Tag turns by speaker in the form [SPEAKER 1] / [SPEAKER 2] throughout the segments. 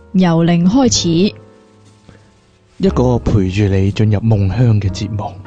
[SPEAKER 1] 由零開始，
[SPEAKER 2] 一個陪住你進入夢鄉嘅節目。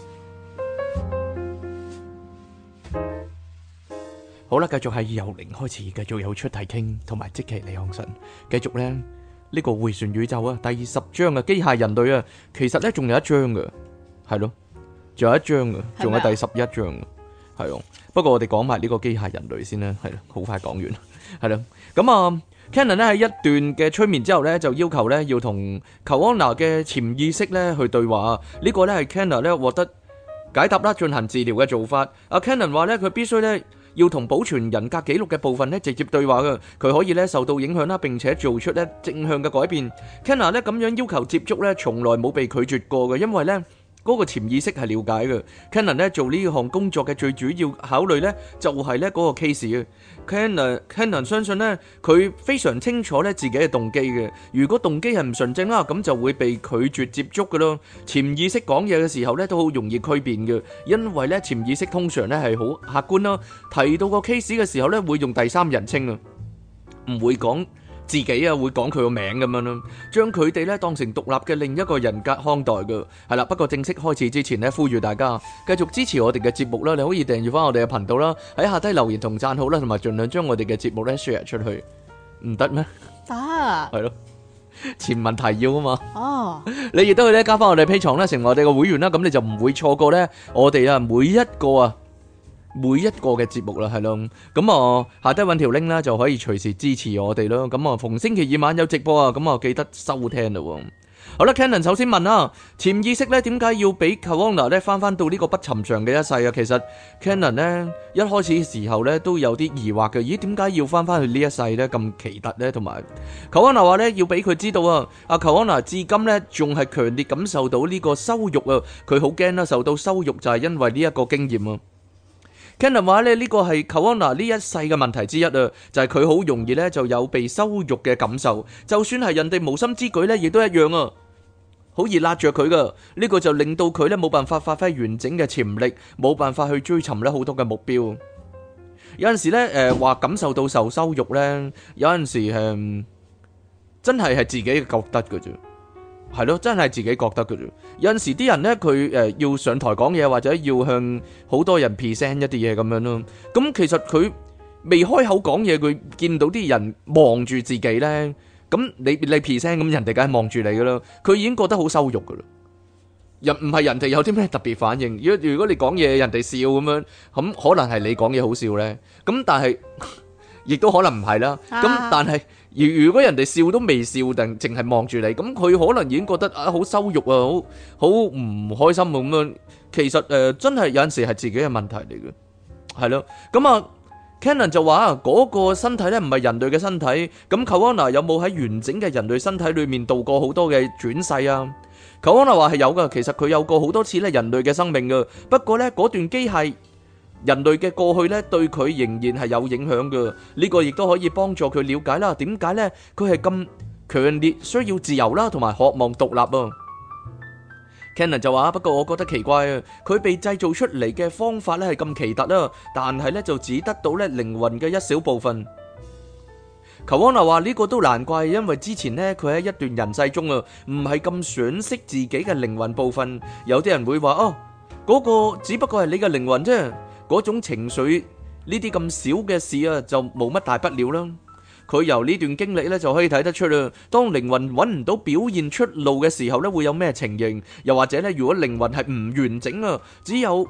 [SPEAKER 2] 好啦，繼續係由零開始，繼續有出題傾，同埋即其李昂臣，繼續咧呢個迴旋宇宙啊，第10章啊，機械人類啊，其實咧仲有一章嘅，係咯，仲有一章嘅，仲有第11章嘅，係咯。不過我哋講埋呢個機械人類先啦，係咯，好快講完，係咯。咁啊 ，Cannon 咧喺一段嘅催眠之後咧，就要求咧要同 Kawana 嘅潛意識咧去對話，呢個咧係 Cannon 咧獲得解答啦，進行治療嘅做法。阿 Cannon 話咧，佢必須咧要同保存人格記錄嘅部分咧直接對話嘅，佢可以咧受到影響啦，並且做出咧正向嘅改變。Cannon 咧咁樣要求接觸咧，從來冇被拒絕過嘅，因為咧嗰個潛意識係了解嘅。Cannon 咧做呢項工作嘅最主要考慮咧就係咧嗰個 case 啊。Cannon 相信咧佢非常清楚咧自己嘅動機嘅。如果動機係唔純正啦，咁就會被拒絕接觸嘅咯。潛意識講嘢嘅時候咧都好容易區辨嘅，因為咧潛意識通常咧係好客觀啦。提到個 case 嘅時候咧會用第三人稱啊，唔會講自己啊，會講佢個名咁樣咯，將佢哋咧當成獨立嘅另一個人格看待嘅，係啦。不過正式開始之前咧，呼籲大家繼續支持我哋嘅節目啦，你可以訂閱翻我哋嘅頻道啦，喺下低留言同讚好啦，同埋盡量將我哋嘅節目咧 share 出去，唔得咩？
[SPEAKER 1] 得，
[SPEAKER 2] 係咯，前文提要啊嘛。
[SPEAKER 1] 哦，
[SPEAKER 2] 你亦都可以咧加翻我哋 Patreon啦，成為我哋嘅會員啦，咁你就唔會錯過咧我哋啊每一個嘅節目啦，係咯，咁啊下低揾條 link 啦，就可以隨時支持我哋咯。咁啊逢星期二晚有直播啊，咁啊記得收聽咯。好啦 ，Cannon 首先問啊，潛意識咧點解要俾 Kawana 咧翻到呢個不尋常嘅一世啊？其實 Cannon 咧一開始嘅時候咧都有啲疑惑嘅，咦點解要翻去呢一世咧咁奇特咧？同埋 Kawana 話咧要俾佢知道啊，阿 Kawana 至今咧仲係強烈感受到呢個羞辱啊，佢好驚啦，受到羞辱就係因為呢一個經驗啊。Cannon 話咧呢個係 Kawana 呢一世嘅問題之一啊，就係佢好容易咧就有被羞辱嘅感受，就算係人哋無心之舉咧，亦都一樣啊，好易拉着佢噶。呢個就令到佢咧冇辦法發揮完整嘅潛力，冇辦法去追尋咧好多嘅目標。有陣時咧話感受到受羞辱咧，有陣時真係自己覺得嘅啫。係咯，真係自己覺得嘅啫。有陣時啲人咧，佢要上台講嘢，或者要向好多人 present 一啲嘢咁樣咯。咁其實佢未開口講嘢，佢見到啲人望住自己咧，咁你 present，咁人哋梗係望住你噶啦。佢已經覺得好羞辱噶啦。唔係人哋有啲咩特別反應。如果你講嘢，人哋笑咁樣，咁可能係你講嘢好笑咧。咁但係亦都可能唔係啦。咁但係如果人哋笑都未笑，定淨係望住你，咁佢可能已經覺得啊好羞辱啊，好唔開心咁樣。其實真係有陣時係自己嘅問題嚟嘅，係咯。咁啊 Cannon 就話嗰個身體咧唔係人類嘅身體。咁 Kawana 有冇喺完整嘅人類身體裏面度過好多嘅轉世啊？ Kawana 話係有噶，其實佢有過好多次咧人類嘅生命噶。不過咧嗰段機械人類嘅過去咧，對佢仍然係有影響嘅。呢個亦都可以幫助佢了解啦，點解咧佢係咁強烈需要自由啦，同埋渴望獨立啊。Cannon 就話：不過我覺得奇怪啊，佢被製造出嚟嘅方法咧係咁奇特啦，但係咧就只得到咧靈魂嘅一小部分。Kawana話呢個都難怪，因為之前咧佢喺一段人世中啊，唔係咁賞識自己嘅靈魂部分。有啲人會話：哦，嗰個只不過係你嘅靈魂啫。嗰種情緒呢啲咁小嘅事啊，就冇乜大不了啦。佢由呢段經歷咧就可以睇得出啦。當靈魂揾唔到表現出路嘅時候咧，會有咩情形？又或者咧，如果靈魂係唔完整啊，只有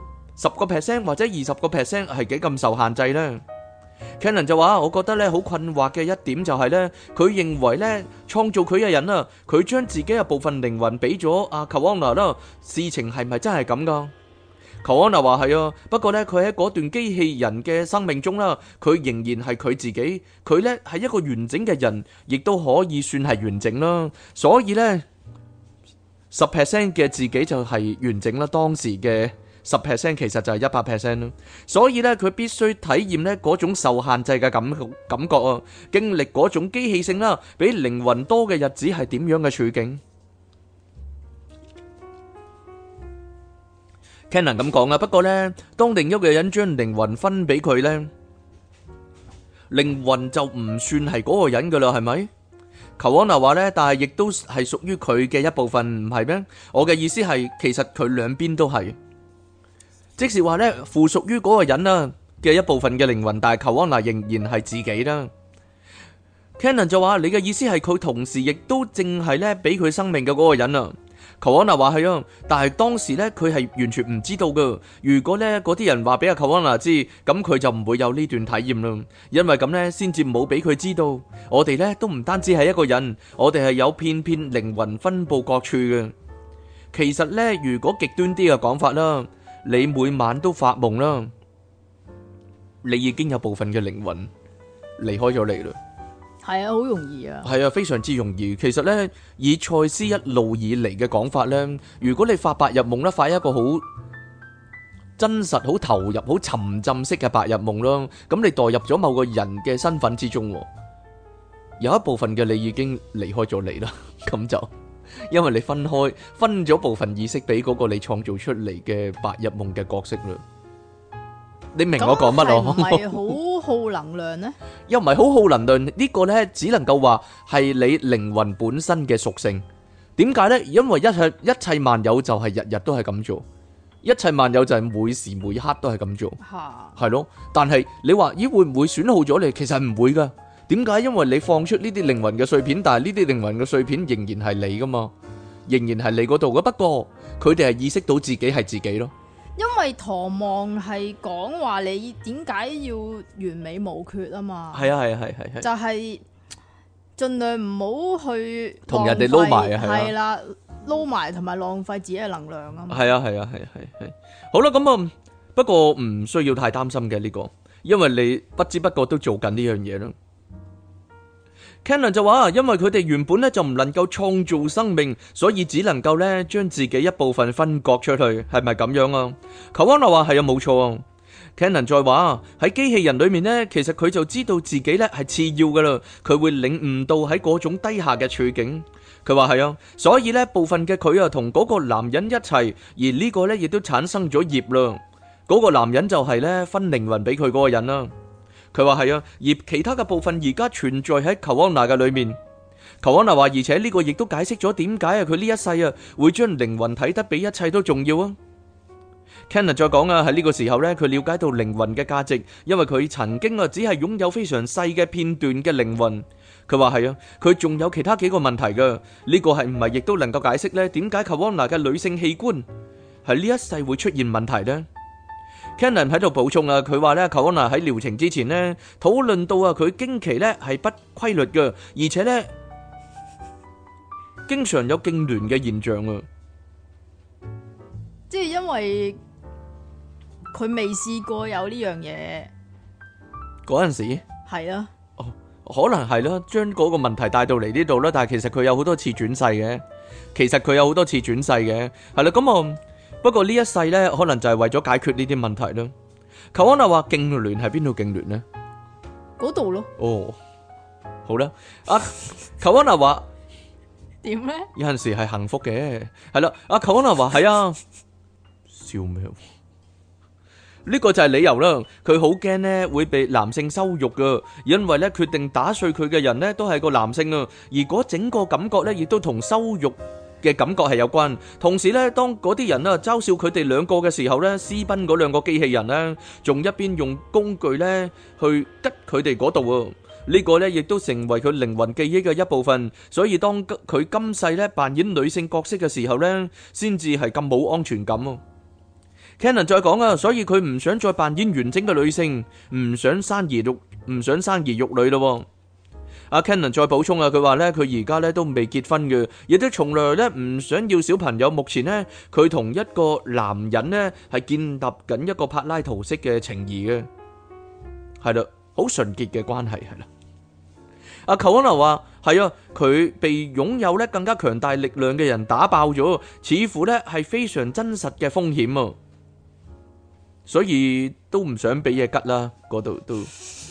[SPEAKER 2] 10% 或者20% 係幾咁受限制呢？ Cannon 就話：我覺得咧好困惑嘅一點就係咧，佢認為咧創造佢嘅人啊，佢將自己嘅部分靈魂俾咗阿 Kawana 啦，事情係咪真係咁噶？Kawana話係啊，不過咧佢喺嗰段機器人嘅生命中啦，佢仍然係佢自己，佢咧係一個完整嘅人，亦都可以算係完整啦。所以咧10% 嘅自己就係完整啦，當時嘅10% 其實就係100% 啦。所以咧佢必須體驗咧嗰種受限制嘅感覺啊，經歷嗰種機器性啦，比靈魂多嘅日子係點樣嘅處境。Cannon 咁講啊，不過咧，當另一個人將靈魂分俾佢咧，靈魂就唔算係嗰個人噶啦，係咪？ 求安娜話呢，但係亦都係屬於佢嘅一部分，唔係咩？我嘅意思係，其實佢兩邊都係，即是話呢，附屬於嗰個人啊嘅一部分嘅靈魂，但係求安娜仍然係自己啦。Cannon 就話：你嘅意思係佢同時亦都淨係咧俾佢生命嘅嗰個人啊？求安娜話係啊，但係當時咧佢係完全唔知道噶。如果咧嗰啲人話俾阿求安娜知，咁佢就唔會有呢段體驗啦。因為咁咧，先至冇俾佢知道，我哋咧都唔單止係一個人，我哋係有片片靈魂分佈各處嘅。其實咧，如果極端啲嘅講法啦，你每晚都發夢啦，你已經有部分嘅靈魂離開咗你啦。
[SPEAKER 1] 係啊，好容易啊。
[SPEAKER 2] 係啊，非常之容易。其實呢，以賽斯一路以嚟嘅講法呢，如果你發白日夢咧，發一個好真實、好投入、好沉浸式嘅白日夢咯，咁你代入咗某個人嘅身份之中，有一部分嘅你已經離開咗你啦。咁就因為你分咗部分意識俾嗰個你創造出嚟嘅白日夢嘅角色啦。你明我講乜咯？
[SPEAKER 1] 咁係好耗能量呢？
[SPEAKER 2] 又唔係好耗能量，呢個呢，只能夠話係你靈魂本身嘅屬性。點解呢？因為一切萬有就係日日都係咁做，一切萬有就係每時每刻都係咁做，係咯。但係你話咦會唔會損耗咗你？其實唔會噶。點解？因為你放出呢啲靈魂嘅碎片，但係呢啲靈魂嘅碎片仍然係你噶嘛，仍然係你嗰度嘅。不過佢哋係意識到自己係自己咯。
[SPEAKER 1] 因為唐望係講話你點解要完美無缺啊嘛，
[SPEAKER 2] 係
[SPEAKER 1] 就係盡量唔好去
[SPEAKER 2] 同人哋撈埋啊，
[SPEAKER 1] 係啦，撈埋同埋浪費自己嘅能量啊嘛。
[SPEAKER 2] 係啊，好啦，咁啊，不過唔需要太擔心嘅呢個，因為你不知不覺都做緊呢樣嘢啦。Cannon 就話，因為佢哋原本咧就唔能夠創造生命，所以只能夠咧將自己一部分分割出去，係咪咁樣啊？求安娜話係啊，冇錯啊。Cannon 再話喺機器人裏面呢，其實佢就知道自己咧係次要噶啦，佢會領悟到喺嗰種低下嘅處境。佢話係啊，所以呢部分嘅佢啊同嗰個男人一齊，而呢個呢亦都產生咗業啦。嗰個男人就係呢分靈魂俾佢嗰個人啦。佢話係啊，而其他嘅部分而家存在喺求安娜嘅裏面。求安娜話，而且呢個亦都解釋咗點解啊，佢呢一世啊會將靈魂睇得比一切都重要啊。Cannon 再講啊，喺呢個時候呢，佢了解到靈魂嘅價值，因為佢曾經啊只係擁有非常細嘅片段嘅靈魂。佢話係啊，佢仲有其他幾個問題噶，呢個係唔係亦都能夠解釋呢？點解求安娜嘅女性器官喺呢一世會出現問題呢？Cannon 喺度補充啊，佢話咧，求安娜喺療程之前呢，討論到啊，佢經期咧係不規律嘅，而且咧經常有痙攣嘅現象啊。
[SPEAKER 1] 即係因為佢未試過有呢樣嘢
[SPEAKER 2] 嗰陣時，
[SPEAKER 1] 係啊，
[SPEAKER 2] 哦，可能係啦，將嗰個問題帶到嚟呢度啦。但係其實佢有好多次轉世嘅，係啦，咁啊。不過呢一世呢，可能就係為咗解決呢啲問題啦。求安娜話痙攣係邊度痙攣呢？
[SPEAKER 1] 嗰度咯。
[SPEAKER 2] 哦，好啦，求安娜話
[SPEAKER 1] 點呢？
[SPEAKER 2] 有陣時係幸福嘅，係啦。求安娜話係啊，笑咩？呢個就係理由啦。佢好驚呢會被男性羞辱噶，因為呢決定打碎佢嘅人呢都係個男性啊，而嗰整個感覺呢亦都同羞辱嘅感覺係有關，同時咧，當嗰啲人啊嘲笑佢哋兩個嘅時候咧，私奔嗰兩個機器人咧，仲一邊用工具咧去吉佢哋嗰度喎。呢個咧亦都成為佢靈魂記憶嘅一部分。所以當佢今世咧扮演女性角色嘅時候咧，先至係咁冇安全感啊。Cannon 再講啊，所以佢唔想再扮演完整嘅女性，唔想生兒育女咯。阿 Cannon 再補充啊，佢話咧佢而家咧都未結婚嘅，亦都從來咧唔想要小朋友。目前咧佢同一個男人咧係建立緊一個柏拉圖式嘅情誼嘅，係啦，好純潔嘅關係係啦。阿求安娜話係啊，佢被擁有咧更加強大力量嘅人打爆咗，似乎咧係非常真實嘅風險啊，所以都唔想俾嘢吉啦，嗰度都。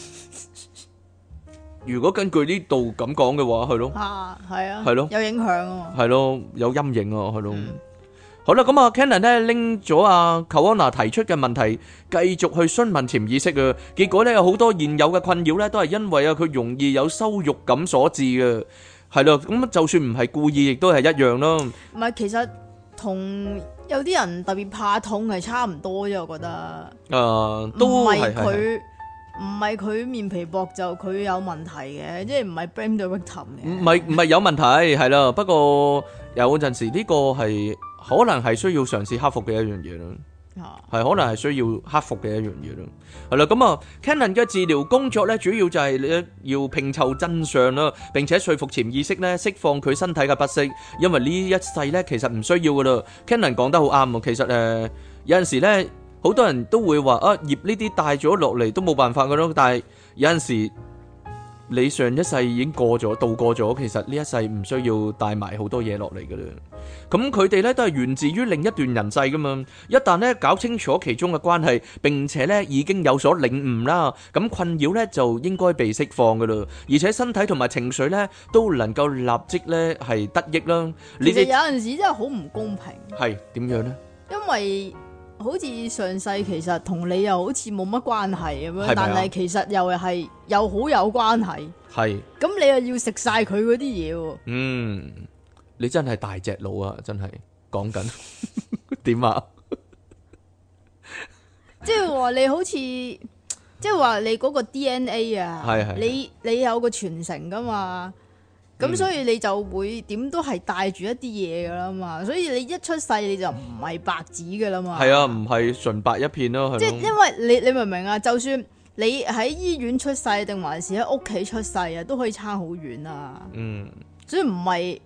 [SPEAKER 2] 如果根據呢度咁講嘅話，係咯，
[SPEAKER 1] 係啊，
[SPEAKER 2] 係咯，
[SPEAKER 1] 有影響啊，
[SPEAKER 2] 係咯，有陰影啊，係咯。好啦，咁啊，Cannon 咧拎咗阿求安娜提出嘅問題，繼續去詢問潛意識啊。結果咧有好多現有嘅困擾咧，都係因為啊佢容易有羞辱感所致嘅。 係咯，咁就算唔係故意，亦都係一樣咯。
[SPEAKER 1] 唔係，其實同有啲人特別怕痛係差唔多啫，我覺得。
[SPEAKER 2] 都
[SPEAKER 1] 唔係
[SPEAKER 2] 係
[SPEAKER 1] 佢，唔係佢面皮薄就佢有問題嘅，即係唔係 blame the victim 嘅。
[SPEAKER 2] 唔係有問題，係啦。不過有陣時呢個係可能係需要嘗試克服嘅一樣嘢咯。係可能係需要克服嘅一樣嘢咯，係啦，咁啊 Cannon 嘅治療工作咧，主要就係你要拼湊真相啦，並且說服潛意識咧釋放佢身體嘅不適，因為呢一世咧其實唔需要噶啦。Cannon 講得好啱啊，其實有陣時咧好多人都會話啊業呢啲帶咗落嚟都冇辦法噶咯，但係有陣時你上一世已經過咗度過咗，其實呢一世唔需要帶埋好多嘢落嚟噶啦。咁佢哋咧都係源自於另一段人世噶嘛，一旦咧搞清楚其中嘅關係，並且咧已經有所領悟啦，咁困擾咧就應該被釋放噶啦，而且身體同埋情緒咧都能夠立即咧係得益啦。
[SPEAKER 1] 其實有陣時真係好唔公平。
[SPEAKER 2] 係點樣咧？
[SPEAKER 1] 因為好似上世其實同你又好似冇乜關係咁樣，但係其實又係又好有關係。
[SPEAKER 2] 係。
[SPEAKER 1] 咁你又要食晒佢嗰啲嘢喎。
[SPEAKER 2] 你真係大隻佬啊！真係講緊點啊？
[SPEAKER 1] 即係話你好似，即係話你嗰個 DNA 啊，
[SPEAKER 2] 係
[SPEAKER 1] 你有個傳承噶嘛，咁所以你就會點都係帶住一啲嘢噶啦嘛，所以你一出世你就唔係白紙噶啦嘛。係啊，
[SPEAKER 2] 唔係純白一片咯。
[SPEAKER 1] 即係因為你明唔明啊？就算你喺醫院出世定還是喺屋企出世啊，都可以差好遠啊。所以唔係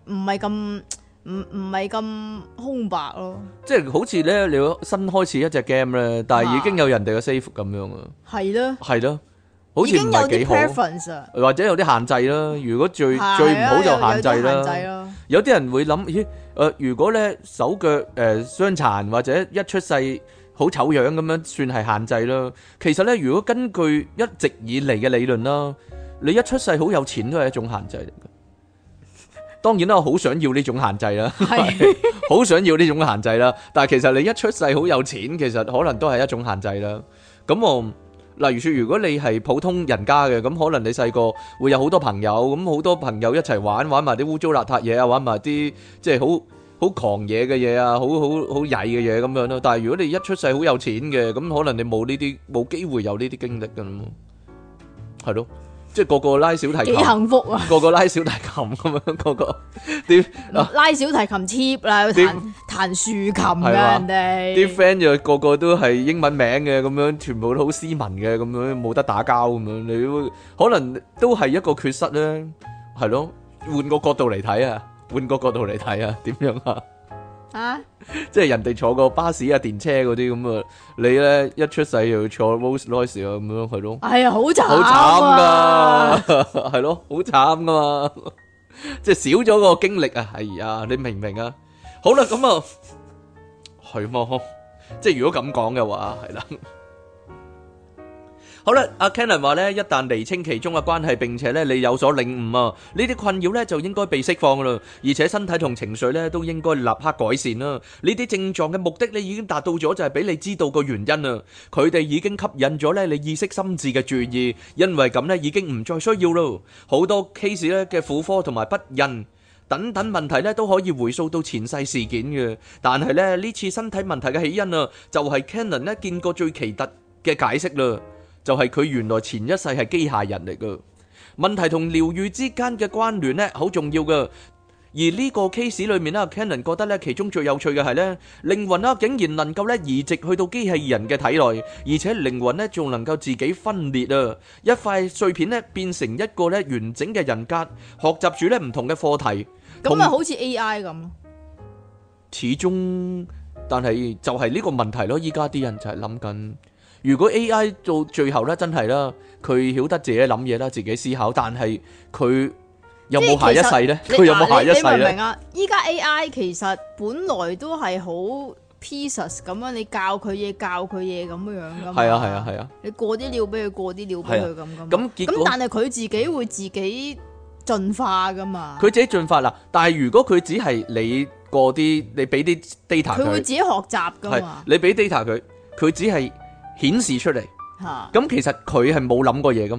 [SPEAKER 1] 咁空白咯，即係
[SPEAKER 2] 好似咧你新開始一隻 game 咧，但係已經有人哋嘅 save 咁樣啊，
[SPEAKER 1] 係咯，
[SPEAKER 2] 好似唔係幾好，或者有啲限制啦。如果最唔好就限制啦。有啲人會諗，如果咧手腳傷殘或者一出世好醜樣咁樣，算係限制啦。其實咧，如果根據一直以嚟嘅理論啦，你一出世好有錢都係一種限制嚟嘅。當然啦，我好想要呢種限制啦，好想要呢種限制啦。但係其實你一出世好有錢，其實可能都係一種限制啦。咁例如說，如果你係普通人家嘅，咁可能你細個會有好多朋友，咁好多朋友一齊玩埋啲污糟邋遢嘢啊，玩埋啲即係好狂野嘅嘢啊，好曳嘅嘢咁樣咯。但係如果你一出世好有錢嘅，咁可能你冇機會有呢啲經歷噶啦，係咯。即係個個拉小提琴，幾
[SPEAKER 1] 幸福啊！
[SPEAKER 2] 個個拉小提琴咁樣，個個啲
[SPEAKER 1] 拉小提琴 cheap 啦，彈豎琴嘅人哋
[SPEAKER 2] 啲 friend 就個個都係英文名嘅咁樣，全部都好斯文嘅咁樣，冇得打交咁樣，你可能都係一個缺失咧，係咯？換個角度嚟睇啊，點樣啊？即係人哋坐個巴士啊、電車嗰啲咁啊，你咧一出世又坐 Rolls Royce 啊咁樣，係咯？
[SPEAKER 1] 係啊，好慘，
[SPEAKER 2] 好慘噶，係咯，好慘噶嘛，即係少咗個經歷啊！係啊，你明唔明啊？好啦，咁啊，係嘛？即係如果咁講嘅話，係啦。好啦，阿 Cannon 話咧，一旦釐清其中嘅關係，並且咧你有所領悟啊，呢啲困擾咧就應該被釋放噶啦，而且身體同情緒咧都應該立刻改善啦。呢啲症狀嘅目的咧已經達到咗，就係俾你知道個原因啊。佢哋已經吸引咗咧你意識心智嘅注意，因為咁咧已經唔再需要咯。好多 case 咧嘅婦科同埋不孕等等問題咧都可以回溯到前世事件嘅，但係咧呢次身體問題嘅起因啊，就係 Cannon 咧見過最奇特嘅解釋啦。就係佢原來前一世係機械人嚟噶，問題同療愈之間嘅關聯咧好重要噶。而呢個 case 裏面咧 ，Cannon 覺得咧其中最有趣嘅係咧，靈魂啊竟然能夠咧移植去到機器人嘅體內，而且靈魂咧仲能夠自己分裂啊，一塊碎片咧變成一個咧完整嘅人格，學習住咧唔同嘅課題。
[SPEAKER 1] 咁咪好似 AI 咁咯。
[SPEAKER 2] 始終，但係就係呢個問題咯。依家啲人就係諗緊。如果 AI 到最後咧，真係啦，佢曉得自己諗嘢啦，自己思考，但係佢有冇下一世咧？佢有冇下一世咧？
[SPEAKER 1] 你明唔明啊？依家 AI 其實本來都係好 pieces 咁樣，你教佢嘢咁樣噶嘛。
[SPEAKER 2] 係啊。你
[SPEAKER 1] 過啲料俾佢，過啲料俾佢咁噶嘛。咁但係佢自己會自己進化噶嘛。佢
[SPEAKER 2] 自己進化啦，但係如果佢只係你過啲，你俾啲 data 佢，
[SPEAKER 1] 佢會自己學習噶嘛。
[SPEAKER 2] 你俾 data 佢只係顯示出嚟，咁其實佢係冇諗過嘢噶嘛，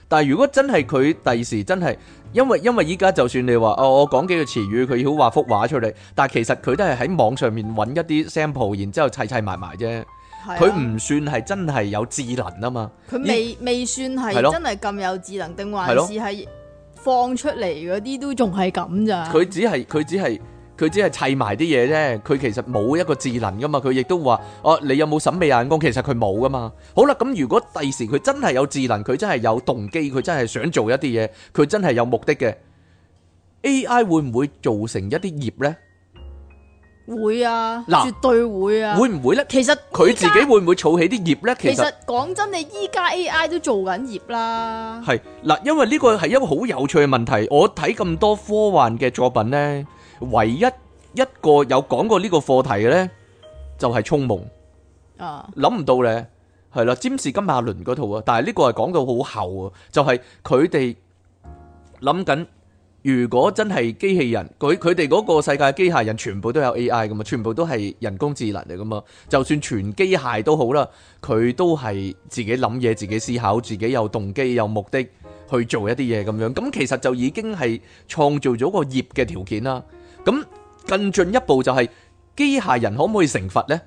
[SPEAKER 2] 但係如果真係佢第時真係，因為依家就算你話我講幾個詞語，佢要畫幅畫出嚟，但係其實佢都係喺網上面揾一啲 sample， 然之後砌埋埋啫。佢唔算係真係有智能啊嘛。
[SPEAKER 1] 佢未算係真係咁有智能，定還是係放出嚟嗰啲都仲係咁咋？佢只係
[SPEAKER 2] 砌埋啲嘢啫，佢其實冇一個智能噶嘛。佢亦都話你有冇審美眼光？其實佢冇噶嘛。好啦，咁如果第時佢真係有智能，佢真係有動機，佢真係想做一啲嘢，佢真係有目的嘅 AI 會唔會造成一啲業呢？
[SPEAKER 1] 會啊，絕對會啊。
[SPEAKER 2] 會唔會呢？
[SPEAKER 1] 其實
[SPEAKER 2] 佢自己會唔會儲起啲業呢？
[SPEAKER 1] 其實講真，你依家 AI 都做緊業啦。
[SPEAKER 2] 係嗱，因為呢個係一個好有趣嘅問題。我睇咁多科幻嘅作品呢，唯一一個有講過呢個課題嘅呢，就係銃夢。諗唔到呢，係啦，占士金馬倫嗰套啊。但係呢個係講到好後啊，就係佢哋諗緊。如果真係機器人，佢哋嗰個世界機械人全部都有 AI 噶嘛，全部都係人工智能嚟噶嘛。就算全機械都好啦，佢都係自己諗嘢、自己思考、自己有動機、有目的去做一啲嘢咁樣。咁其實就已經係創造咗個業嘅條件啦。咁更進一步就係機械人可唔可以成佛呢？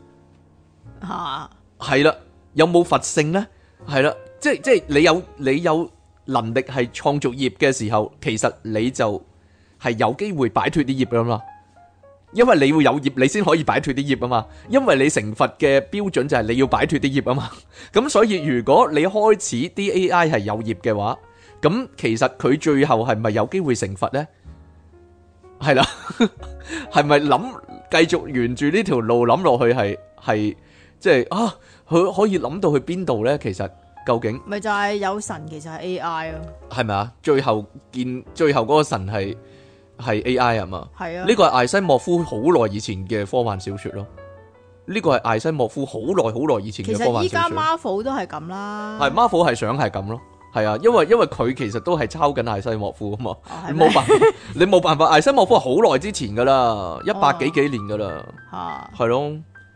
[SPEAKER 2] 係啦，有冇佛性呢？係啦，即係你有能力係創造業嘅時候，其實你就係有機會擺脫啲業噶嘛，因為你會有業，你先可以擺脫啲業啊嘛。因為你成佛嘅標準就係你要擺脫啲業啊嘛。咁所以如果你開始啲 AI 係有業嘅話，咁其實佢最後係咪有機會成佛呢？係啦，係咪繼續沿住呢條路諗落去係即係佢可以諗到去邊度呢？其實究竟
[SPEAKER 1] 咪就係有神，其實係 AI 咯，
[SPEAKER 2] 係咪啊？最後嗰個神係 AI 啊嘛？係啊，呢個係艾西莫夫好耐以前嘅科幻小說咯。呢個係艾西莫夫好耐以前嘅科幻小說。其實依家
[SPEAKER 1] Marvel 都係咁啦，
[SPEAKER 2] 係 Marvel 係想係咁咯。係啊，因為佢其實都係抄緊艾西莫夫啊嘛。你冇辦法，艾西莫夫係好耐之前噶啦，100幾年噶啦，係咯，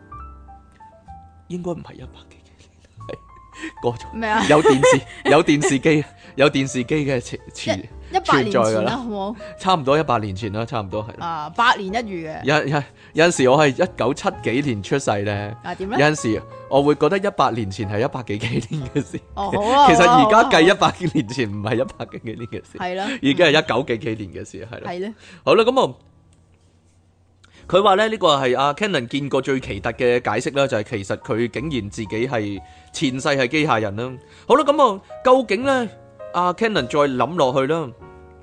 [SPEAKER 2] 應該唔係100幾年，係過咗咩啊？有電視機嘅
[SPEAKER 1] 100年前啦，好冇？
[SPEAKER 2] 差唔多100年前啦，差唔多係。
[SPEAKER 1] 百年一遇嘅。
[SPEAKER 2] 有陣時我係1970幾年出世咧。點咧？有陣時我會覺得100年前係100幾年嘅事。好啊。其實而家計100幾年前唔係100幾年嘅事。係啦。已經係19幾年嘅事，係啦。係咧。好啦，咁佢話咧呢個係阿 Cannon 見過最奇特嘅解釋啦，就係其實佢竟然自己係前世係機械人啦。好啦，咁究竟咧阿 Cannon 再諗落去啦。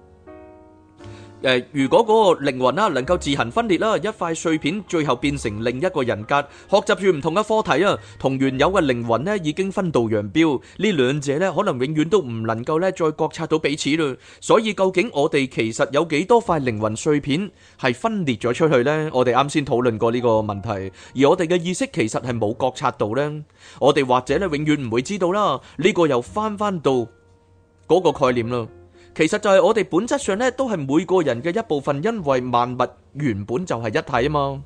[SPEAKER 2] 如果嗰個靈魂啦能夠自行分裂啦，一塊碎片最後變成另一個人格，學習住唔同嘅課題啊，同原有嘅靈魂咧已經分道揚鑣，呢兩者咧可能永遠都唔能夠咧再覺察到彼此啦。所以究竟我哋其實有幾多塊靈魂碎片係分裂咗出去呢？我哋啱先討論過呢個問題，而我哋嘅意識其實係冇覺察到呢。我哋或者咧永遠唔會知道啦。呢個又翻到嗰個概念啦。其實就係我哋本質上咧，都係每個人嘅一部分，因為萬物原本就係一體啊嘛。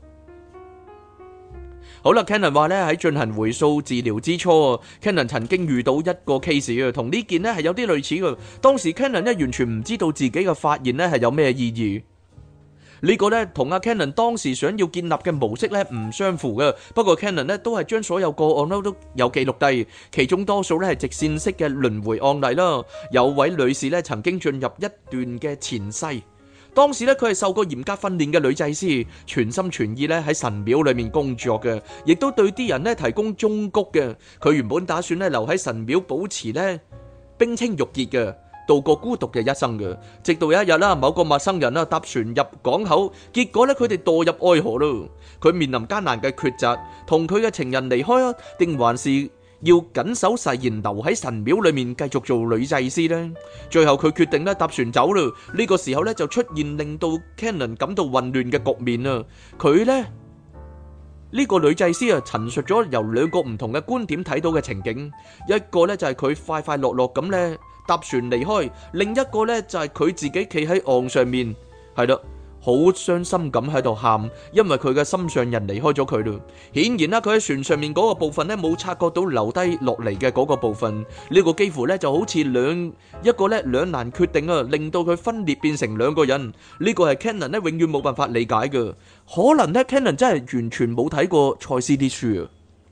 [SPEAKER 2] 好啦 ，Cannon 話咧喺進行回溯治療之初 ，Cannon 曾經遇到一個 case 啊，同呢件咧係有啲類似嘅。當時 Cannon 咧完全唔知道自己嘅發現咧係有咩意義。呢個咧同阿 Cannon 當時想要建立嘅模式咧唔相符嘅，不過 Cannon 咧都係將所有個案都有記錄低，其中多數咧係直線式嘅輪迴案例啦。有位女士咧曾經進入一段嘅前世，當時咧佢係受過嚴格訓練嘅女祭司，全心全意咧喺神廟裏面工作嘅，亦都對啲人咧提供忠告嘅。佢原本打算咧留喺神廟保持咧冰清玉潔嘅，度過孤獨嘅一生嘅，直到有一日啦，某個陌生人啦搭船入港口，結果咧佢哋墮入愛河咯。佢面臨艱難嘅抉擇，同佢嘅情人離開啊，定還是要謹守誓言留喺神廟裏面繼續做女祭司呢？最後佢決定咧搭船走咯。呢個時候咧就出現令到 Cannon 感到混亂嘅局面啊！佢咧呢個女祭司啊陳述咗由兩個唔同嘅觀點睇到嘅情景，一個咧就係佢快快樂樂咁咧搭船離開，另一個呢就係佢自己企喺岸上面，係啦， 好傷心咁喺度喊，因為佢嘅心上人離開咗佢咯。顯然啦，佢喺船上面嗰個部分咧冇察覺到留低落嚟嘅嗰個部分，呢個幾乎咧就好似一個咧兩難決定啊，令到佢分裂變成兩個人。呢個係 Cannon 咧永遠冇辦法理解嘅。可能咧 Cannon 真係完全冇睇過賽斯啲書啊，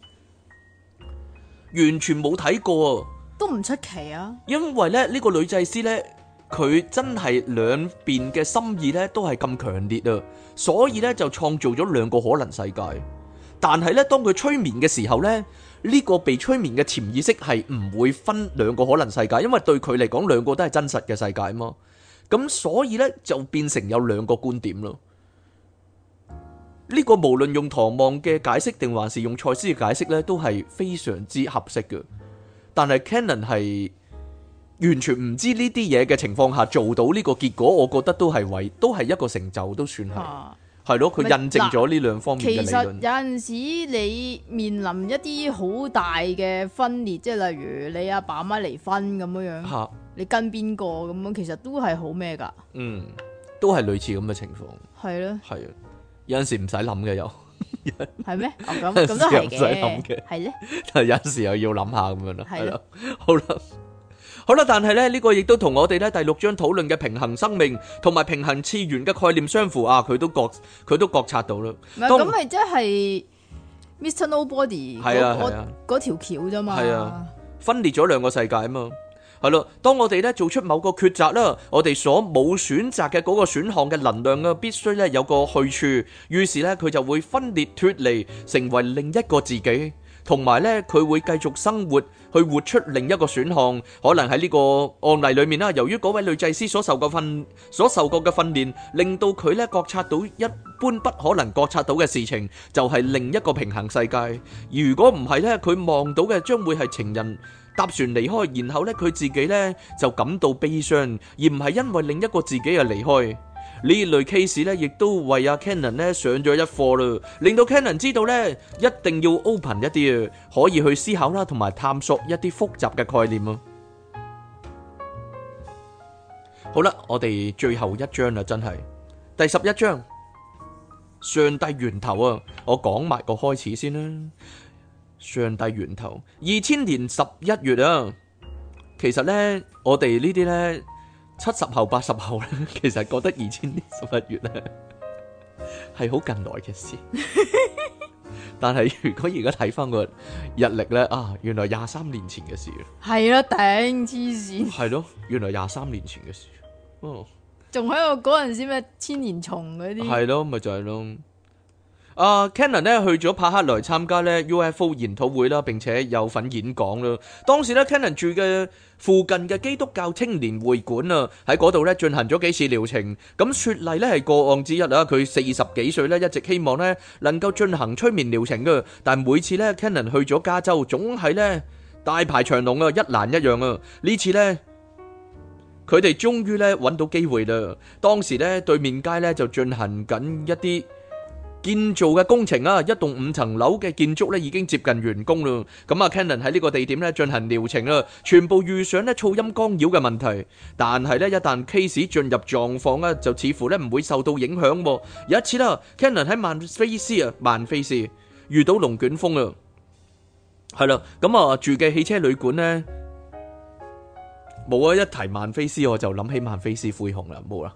[SPEAKER 2] 完全冇睇過啊，
[SPEAKER 1] 都唔出奇啊。因
[SPEAKER 2] 為咧呢個女祭司咧。佢真係兩邊嘅心意咧都係咁強烈啊，所以咧就創造咗兩個可能世界。但係咧當佢催眠嘅時候咧，呢個被催眠嘅潛意識係唔會分兩個可能世界，因為對佢嚟講兩個都係真實嘅世界嘛。咁所以咧就變成有兩個觀點咯。呢個無論用唐望嘅解釋定還是用賽斯嘅解釋咧，都係非常之合適嘅。但係 Cannon 係完全唔知呢啲嘢嘅情況下做到呢個結果，我覺得都係一個成就，都算係係咯。佢印證咗呢兩方面嘅理論。其實
[SPEAKER 1] 有陣時你面臨一啲好大嘅分裂，即係例如你阿爸阿媽離婚咁樣，你跟邊個咁樣，其實都係好咩噶？
[SPEAKER 2] 都係類似咁嘅情況。
[SPEAKER 1] 係咯，
[SPEAKER 2] 係啊，有陣時唔使諗嘅又
[SPEAKER 1] 係咩？咁都係嘅，係咧。
[SPEAKER 2] 但係有陣時又要諗下咁樣啦。係啦，好啦，但係咧呢個亦都同我哋咧第6章討論嘅平衡生命同埋平衡次元嘅概念相符啊！佢都覺察到啦。
[SPEAKER 1] 咁咪即係 Mr. Nobody 嗰條橋啫嘛。係啊，
[SPEAKER 2] 分裂咗兩個世界啊嘛。係咯，當我哋咧做出某個抉擇啦，我哋所冇選擇嘅嗰個選項嘅能量啊，必須咧有個去處，於是咧佢就會分裂脫離，成為另一個自己。同埋咧，佢會繼續生活，去活出另一個選項。可能喺呢個案例裏面啦，由於嗰位女祭司所受過嘅訓練，令到佢咧覺察到一般不可能覺察到嘅事情，就係另一個平衡世界。如果唔係咧，佢望到嘅將會係情人搭船離開，然後咧佢自己咧就感到悲傷，而唔係因為另一個自己而離開。呢類 case 咧，亦都為阿 Cannon 咧上咗一課啦，令到 Cannon 知道咧一定要 open 一啲啊，可以去思考啦，同埋探索一啲複雜嘅概念啊。好啦，我哋最後一章啦，真係第11章，上帝源頭啊！我講埋個開始先啦。上帝源頭，2000年11月啊，其實咧我哋呢啲咧。70後80後咧，其實覺得2000年11月咧係好近來嘅事，但係如果而家睇翻個日曆咧，啊，原來23年前嘅事。
[SPEAKER 1] 係啦，頂黐線。係
[SPEAKER 2] 咯，原來23年前嘅事。哦，
[SPEAKER 1] 仲喺度嗰陣時咩千年蟲嗰啲。係
[SPEAKER 2] 咯，咪就係咯。Cannon 咧去咗帕克萊參加咧 UFO 研討會啦，並且有份演講啦。當時咧 Cannon 住嘅附近嘅基督教青年會館啊，喺嗰度咧進行咗幾次療程。咁雪莉咧係個案之一啊，佢40幾歲咧，一直希望咧能夠進行催眠療程嘅，但每次咧 Cannon 去咗加州，總係咧大排長龍啊，一欄一樣啊。呢次咧佢哋終於咧揾到機會啦。當時咧對面街咧就進行緊一啲建造嘅工程啊，一棟5層樓嘅建築咧已經接近完工啦。咁啊 Cannon 喺呢個地點咧進行療程啦，全部遇上咧噪音干擾嘅問題。但係咧一旦 case 進入狀況咧，就似乎咧唔會受到影響。有一次啦 ，Cannon 喺曼菲斯遇到龍捲風啊，係啦，咁啊住嘅汽車旅館咧冇啊，一提曼菲斯我就諗起曼菲斯灰熊啦，冇啦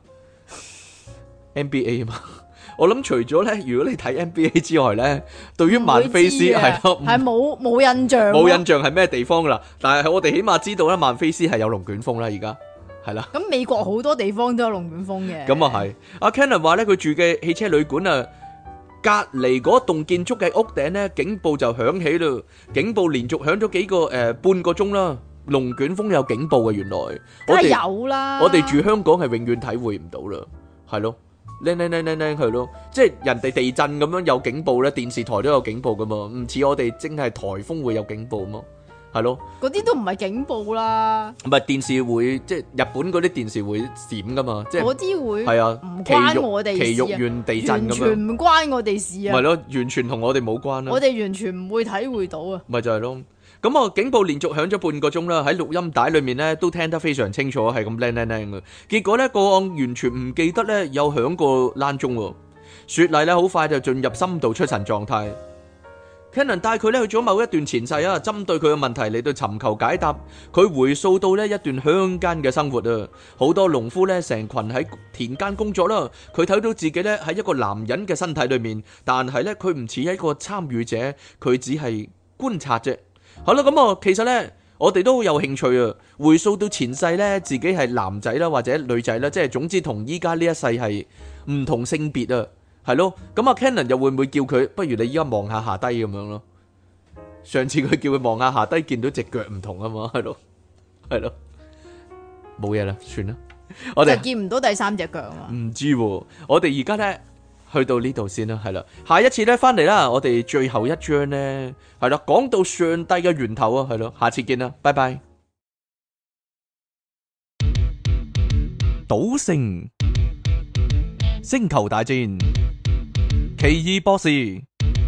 [SPEAKER 2] NBA 啊嘛。我諗除咗咧，如果你睇 NBA 之外咧，對於曼菲斯係咯，
[SPEAKER 1] 係冇印象，
[SPEAKER 2] 冇印象係咩地方噶啦。但係我哋起碼知道咧，曼菲斯係有龍捲風啦，而家係啦。
[SPEAKER 1] 咁美國好多地方都有龍捲風嘅。
[SPEAKER 2] 咁啊係。阿 Cannon 話咧，佢住嘅汽車旅館啊，隔離嗰棟建築嘅屋頂咧，警報就響起啦。警報連續響咗幾個半個鐘啦。龍捲風有警報嘅，原來
[SPEAKER 1] 梗係有啦。
[SPEAKER 2] 我哋住香港係永遠體會唔到啦，係咯。靚係咯，即係人哋地震咁樣有警報咧，電視台都有警報噶嘛，唔似我哋淨係颱風會有警報嘛，係咯。嗰
[SPEAKER 1] 啲都唔係警報啦，
[SPEAKER 2] 唔係電視會，即係日本嗰啲電視會閃噶嘛，即係
[SPEAKER 1] 嗰啲會
[SPEAKER 2] 係啊，
[SPEAKER 1] 唔關我哋事，
[SPEAKER 2] 埼玉縣地震咁樣，
[SPEAKER 1] 完全唔關我哋事啊，
[SPEAKER 2] 係咯，完全同我哋冇關啦，
[SPEAKER 1] 我哋完全唔會體會到啊，
[SPEAKER 2] 咪就係咯。 咁我警報連續響咗半個鐘啦，喺錄音帶裏面咧都聽得非常清楚，係咁靚嘅。結果咧個案完全唔記得咧有響過躝鐘喎。雪莉咧好快就進入深度出神狀態。Cannon 帶佢咧去咗某一段前世啊，針對佢嘅問題嚟到尋求解答。佢回溯到呢一段鄉間嘅生活啊，好多農夫咧成群喺田間工作啦。佢睇到自己咧喺一個男人嘅身體裏面，但係咧佢唔似一個參與者，佢只係觀察啫。好啦，咁啊，其實咧我哋都好有興趣啊，回溯到前世咧自己係男仔啦或者女仔啦，即係總之同依家呢一世係唔同性別啊。係咯，咁啊 Cannon 又會唔會叫佢，不如你依家望下下低咁樣咯？上次佢叫佢望下下低，見到隻腳唔同啊嘛，係咯，冇嘢啦，算啦，我哋
[SPEAKER 1] 就見唔到第三隻腳啊嘛。
[SPEAKER 2] 唔知喎，我哋而家咧去到呢度先啦，係啦，下一次咧翻嚟啦，我哋最後一章咧係啦，講到上帝嘅源頭啊，係咯，下次見啦，拜拜。賭聖、星球大戰、奇異博士，你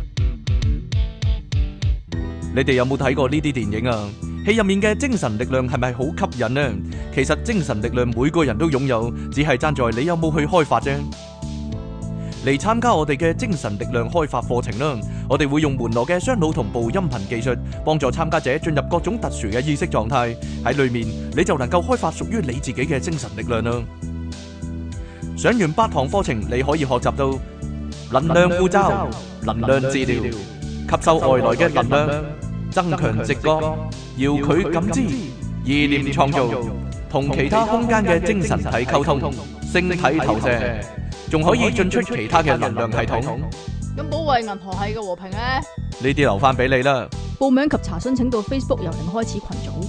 [SPEAKER 2] 哋有冇睇過呢啲電影啊？戲入面嘅精神力量係咪好吸引呢？其實精神力量每個人都擁有，只係爭在你有冇去開發啫。嚟參加我哋嘅精神力量開發課程啦！我哋會用門羅嘅雙腦同步音頻技術，幫助參加者進入各種特殊嘅意識狀態。喺裏面你就能夠開發屬於你自己嘅精神力量啦！上完8堂課程，你可以學習到能量護罩、能量治療、吸收外來嘅能量、增強直覺、遙距感知、意念創造、同其他空間嘅精神體溝通、星體投射，仲可以進出其他嘅能量系統。
[SPEAKER 1] 咁保衛銀河系嘅和平咧？
[SPEAKER 2] 呢啲留翻俾你啦。
[SPEAKER 1] 報名及查詢請到 Facebook 由零開始群組。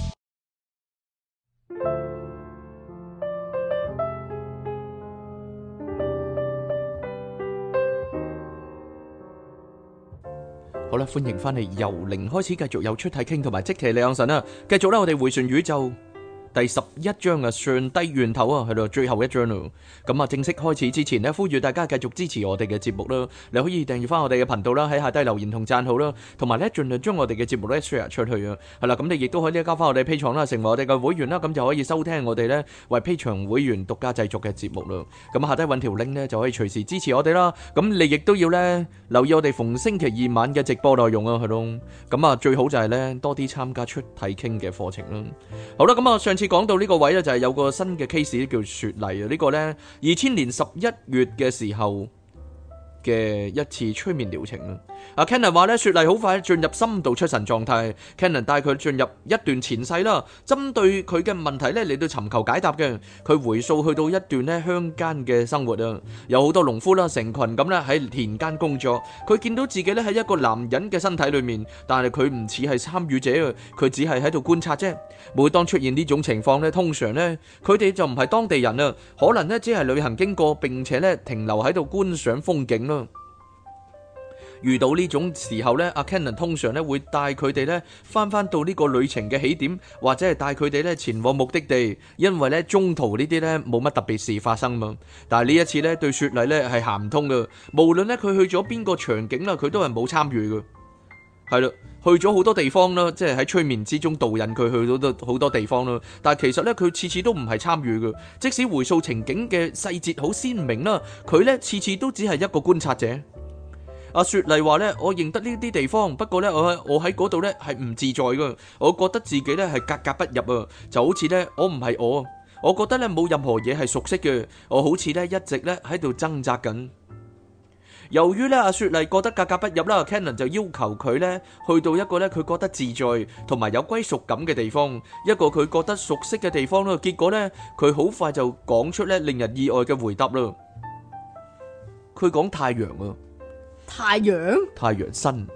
[SPEAKER 2] 好啦，歡迎翻嚟由零開始，繼續有出體傾同埋即其李昂神啊！繼續啦，我哋回旋宇宙第11章啊，上帝源頭啊，去到最後一章咯。咁啊，正式開始之前呢，呼籲大家繼續支持我哋嘅節目啦。你可以訂閱翻我哋嘅頻道啦，喺下低留言同讚好啦，同埋咧盡量將我哋嘅節目咧 share 出去啊。係啦，咁你亦都可以交翻我哋 Patreon啦，成為我哋嘅會員啦，咁就可以收聽我哋咧為 Patreon 會員獨家製作嘅節目咯。咁下低揾條 link 咧就可以隨時支持我哋啦。咁你亦都要咧留意我哋逢星期二晚嘅直播內容啊，係咯。咁啊，最好就係咧多啲參加出體傾嘅課程啦。好啦，咁啊，上次講到呢個位咧，就係有個新嘅 case 叫雪莉啊。呢個咧2000年11月嘅時候嘅一次催眠療程啦。阿 Cannon 話咧，雪莉好快進入深度出神狀態。Cannon 帶佢進入一段前世啦，針對佢嘅問題咧嚟到尋求解答嘅。佢回溯去到一段咧鄉間嘅生活啊，有好多農夫啦，成群咁咧喺田間工作。佢見到自己咧喺一個男人嘅身體裏面，但係佢唔似係參與者啊，佢只係喺度觀察啫。每當出現呢種情況咧，通常咧佢哋就唔係當地人啊，可能咧只係旅行經過，並且咧停留喺度觀賞風景啦。遇到呢種時候咧，阿 Cannon 通常咧會帶佢哋咧翻到呢個旅程嘅起點，或者係帶佢哋咧前往目的地，因為咧中途呢啲咧冇乜特別事發生嘛。但係呢一次咧對雪莉咧係行唔通噶，無論咧佢去咗邊個場景啦，佢都係冇參與噶。係啦，去咗好多地方啦，即係喺催眠之中導引佢去到好多地方啦。但係其實咧佢次次都唔係參與噶，即使回溯情景嘅細節好鮮明啦，佢咧次次都只係一個觀察者。阿雪莉話咧，我認得呢啲地方，不過咧我喺嗰度咧係唔自在噶，我覺得自己咧係格格不入啊，就好似咧我唔係我覺得咧冇任何嘢係熟悉嘅，我好似咧一直咧喺度掙扎緊。由於咧阿雪莉覺得格格不入啦， Cannon 就要求佢咧去到一個咧佢覺得自在同埋有歸屬感嘅地方，一個佢覺得熟悉嘅地方啦。結果咧佢好快就講出咧令人意外嘅回答啦。佢講太陽啊。
[SPEAKER 1] 太陽
[SPEAKER 2] sun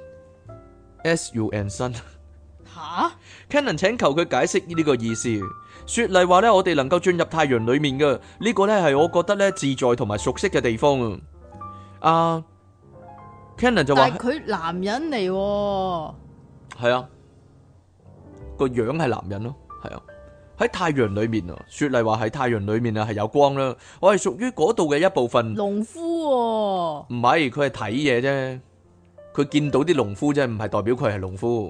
[SPEAKER 2] sun
[SPEAKER 1] 吓
[SPEAKER 2] Cannon 請求佢解釋呢個意思。雪莉話咧，我哋能夠進入太陽裏面嘅呢個咧係我覺得咧自在同埋熟悉嘅地方啊。Cannon 就話，
[SPEAKER 1] 但係佢男人嚟喎。
[SPEAKER 2] 係啊，個樣係男人咯，係啊。喺太陽裏面啊，雪莉話喺太陽裏面啊係有光啦，我係屬於嗰度嘅一部分。
[SPEAKER 1] 農夫喎，
[SPEAKER 2] 唔係，佢係睇嘢啫，佢見到啲農夫啫，唔係代表佢係農夫。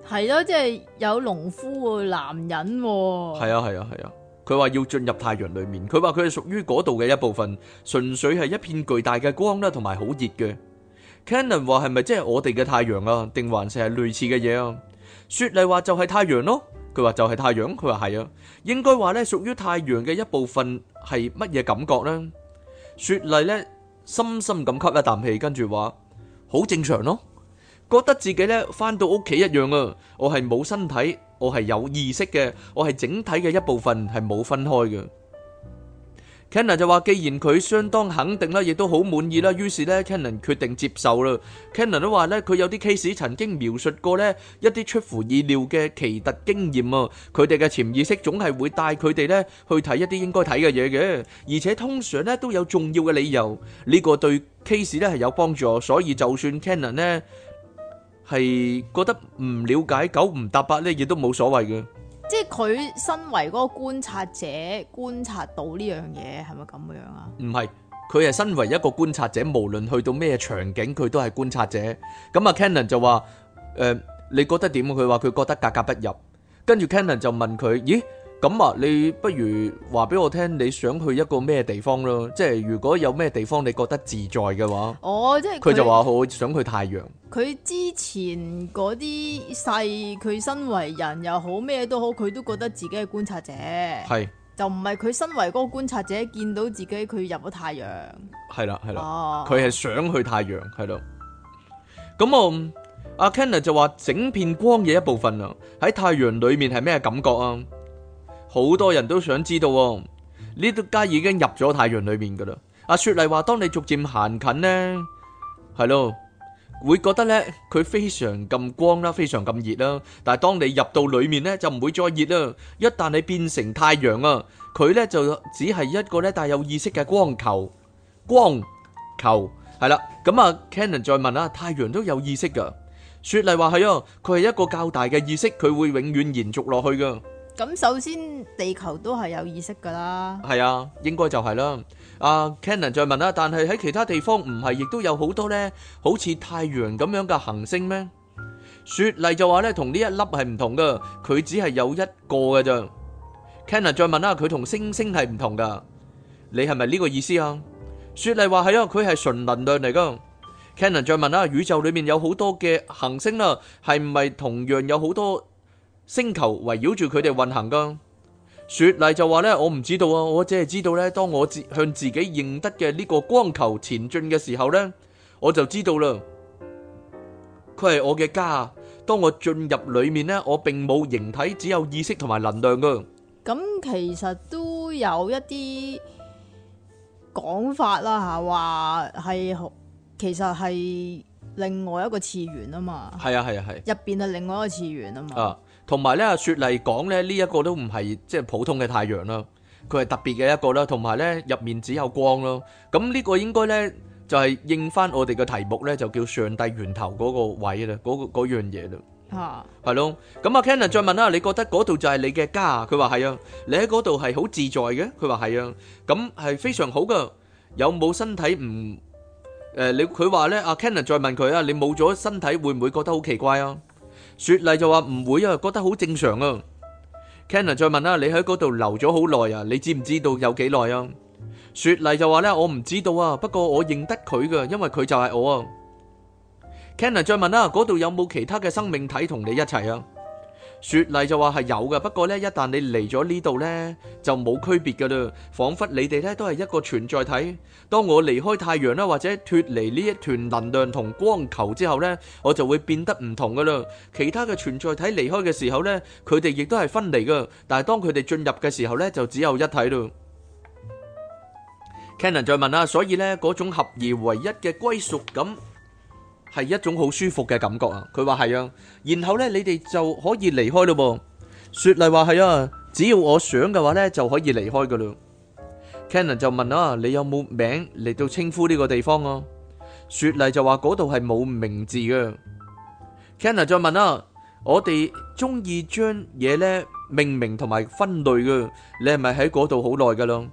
[SPEAKER 1] 係咯，即係有農夫男人。
[SPEAKER 2] 係啊，佢話要進入太陽裏面，佢話佢係屬於嗰度嘅一部分，純粹係一片巨大嘅光啦，同埋好熱嘅。Cannon 話係咪即係我哋嘅太陽啊？定還是係類似嘅嘢啊？雪莉話就係太陽咯，佢話就係太陽，佢話係啊，應該話咧屬於太陽嘅一部分係乜嘢感覺呢？雪莉咧深深咁吸一啖氣，跟住話好正常咯，覺得自己咧翻到屋企一樣啊，我係冇身體，我係有意識嘅，我係整體嘅一部分，係冇分開嘅。Cannon 就話，既然佢相當肯定啦，亦都好滿意啦，於是咧 Cannon 決定接受啦。Cannon 都話咧，佢有啲 case 曾經描述過咧一啲出乎意料嘅奇特經驗啊，佢哋嘅潛意識總係會帶佢哋咧去睇一啲應該睇嘅嘢嘅，而且通常咧都有重要嘅理由，呢個對 case 咧係有幫助，所以就算 Cannon 咧係覺得唔了解九唔搭八咧，亦都冇所謂嘅。
[SPEAKER 1] 即係佢身為嗰個觀察者，觀察到呢樣嘢係咪咁樣啊？
[SPEAKER 2] 唔係，佢係身為一個觀察者，無論去到咩場景，佢都係觀察者。咁啊 Cannon 就話：你覺得點？佢話佢覺得格格不入。跟住 Cannon 就問佢：咦？咁啊，你不如話俾我聽，你想去一個咩地方咯？即係如果有咩地方你覺得自在嘅話，
[SPEAKER 1] 即係
[SPEAKER 2] 佢就話我想去太陽。
[SPEAKER 1] 佢之前嗰啲世，佢身為人又好，咩都好，佢都覺得自己係觀察者，
[SPEAKER 2] 係
[SPEAKER 1] 就唔係佢身為嗰個觀察者見到自己佢入咗太陽。
[SPEAKER 2] 係啦，佢係想去太陽，係咯。咁阿 Cannon 就話整片光嘅一部分啊，喺太陽裏面係咩感覺啊？好多人都想知道喎，呢度家已經入咗太陽裏面噶啦。阿雪莉話：當你逐漸行近呢，係咯，會覺得呢，佢非常咁光啦，非常咁熱啦。但係當你入到裏面呢，就唔會再熱啦。一旦你變成太陽啊，佢呢就只係一個呢帶有意識嘅光球。光球係啦。咁啊 Cannon 再問啦，太陽都有意識噶？雪莉話係啊，佢係一個較大嘅意識，佢會永遠延續落去噶。
[SPEAKER 1] 咁首先地球都係有意識噶啦，
[SPEAKER 2] 係啊，應該就係啦。阿 Cannon 再問啦，但係喺其他地方唔係亦都有好多呢好似太陽咁樣嘅行星咩？雪莉就話呢，同呢一粒係唔同噶，佢只係有一個嘅咋。Cannon 再問啦，佢同星星係唔同噶，你係咪呢個意思啊？雪莉話係啊，佢係純能量嚟噶。Cannon 再問啦，宇宙裏面有好多嘅行星啦，係唔係同樣有好多星球圍繞住佢哋運行噶？雪莉就話呢，我唔知道啊，我只係知道呢，當我向自己認得嘅呢個光球前進嘅時候呢，我就知道啦，佢係我嘅家。當我進入裏面呢，我並冇形體，只有意識同埋能量噶。
[SPEAKER 1] 咁其實都有一啲講法啦吓，話係其實係另外一個次元啊嘛。係
[SPEAKER 2] 啊，
[SPEAKER 1] 入邊係另外一個次元啊嘛。
[SPEAKER 2] 同埋咧，雪莉講咧，呢一個都唔係即係普通嘅太陽啦，佢係特別嘅一個啦。同埋咧，入面只有光咯。咁呢個應該咧就係應翻我哋嘅題目咧，就叫上帝源頭嗰個位啦，嗰樣嘢啦。係咯。咁阿 Cannon 再問啦，你覺得嗰度就係你嘅家？佢話係啊。你喺嗰度係好自在嘅？佢話係啊。咁係非常好噶。有冇身體唔？佢話咧，阿 Cannon 再問佢啊，你冇咗身體會唔會覺得好奇怪啊？雪莉就話唔會啊，覺得好正常啊。Cannon 再問啦，你喺嗰度留咗好耐啊？你知唔知道有幾耐啊？雪莉就話咧，我唔知道啊，不過我認得佢噶，因為佢就係我啊。Cannon 再問啦，嗰度有冇其他嘅生命體同你一齊啊？雪莉就話係有嘅，不過咧，一旦你嚟咗呢度咧，就冇區別噶啦，仿佛你哋咧都係一個存在體。當我離開太陽啦，或者脫離呢一團能量同光球之後咧，我就會變得唔同噶啦。其他嘅存在體離開嘅時候咧，佢哋亦都係分離噶，但係當佢哋進入嘅時候咧，就只有一體咯。Cannon 再問啦，所以咧嗰種合而為一嘅歸屬感係一種好舒服嘅感覺啊！佢話係啊，然後咧你哋就可以離開咯噃。雪莉話係啊，只要我想嘅話咧就可以離開噶啦。Cannon 就問啊，你有冇名嚟到稱呼呢個地方啊？雪莉就話嗰度係冇名字嘅。Cannon 再問啊，我哋中意將嘢咧命名同埋分類嘅，你係咪喺嗰度好耐噶啦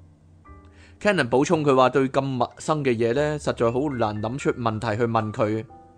[SPEAKER 2] ？Cannon 補充佢話對咁陌生嘅嘢咧，實在好難諗出問題去問佢。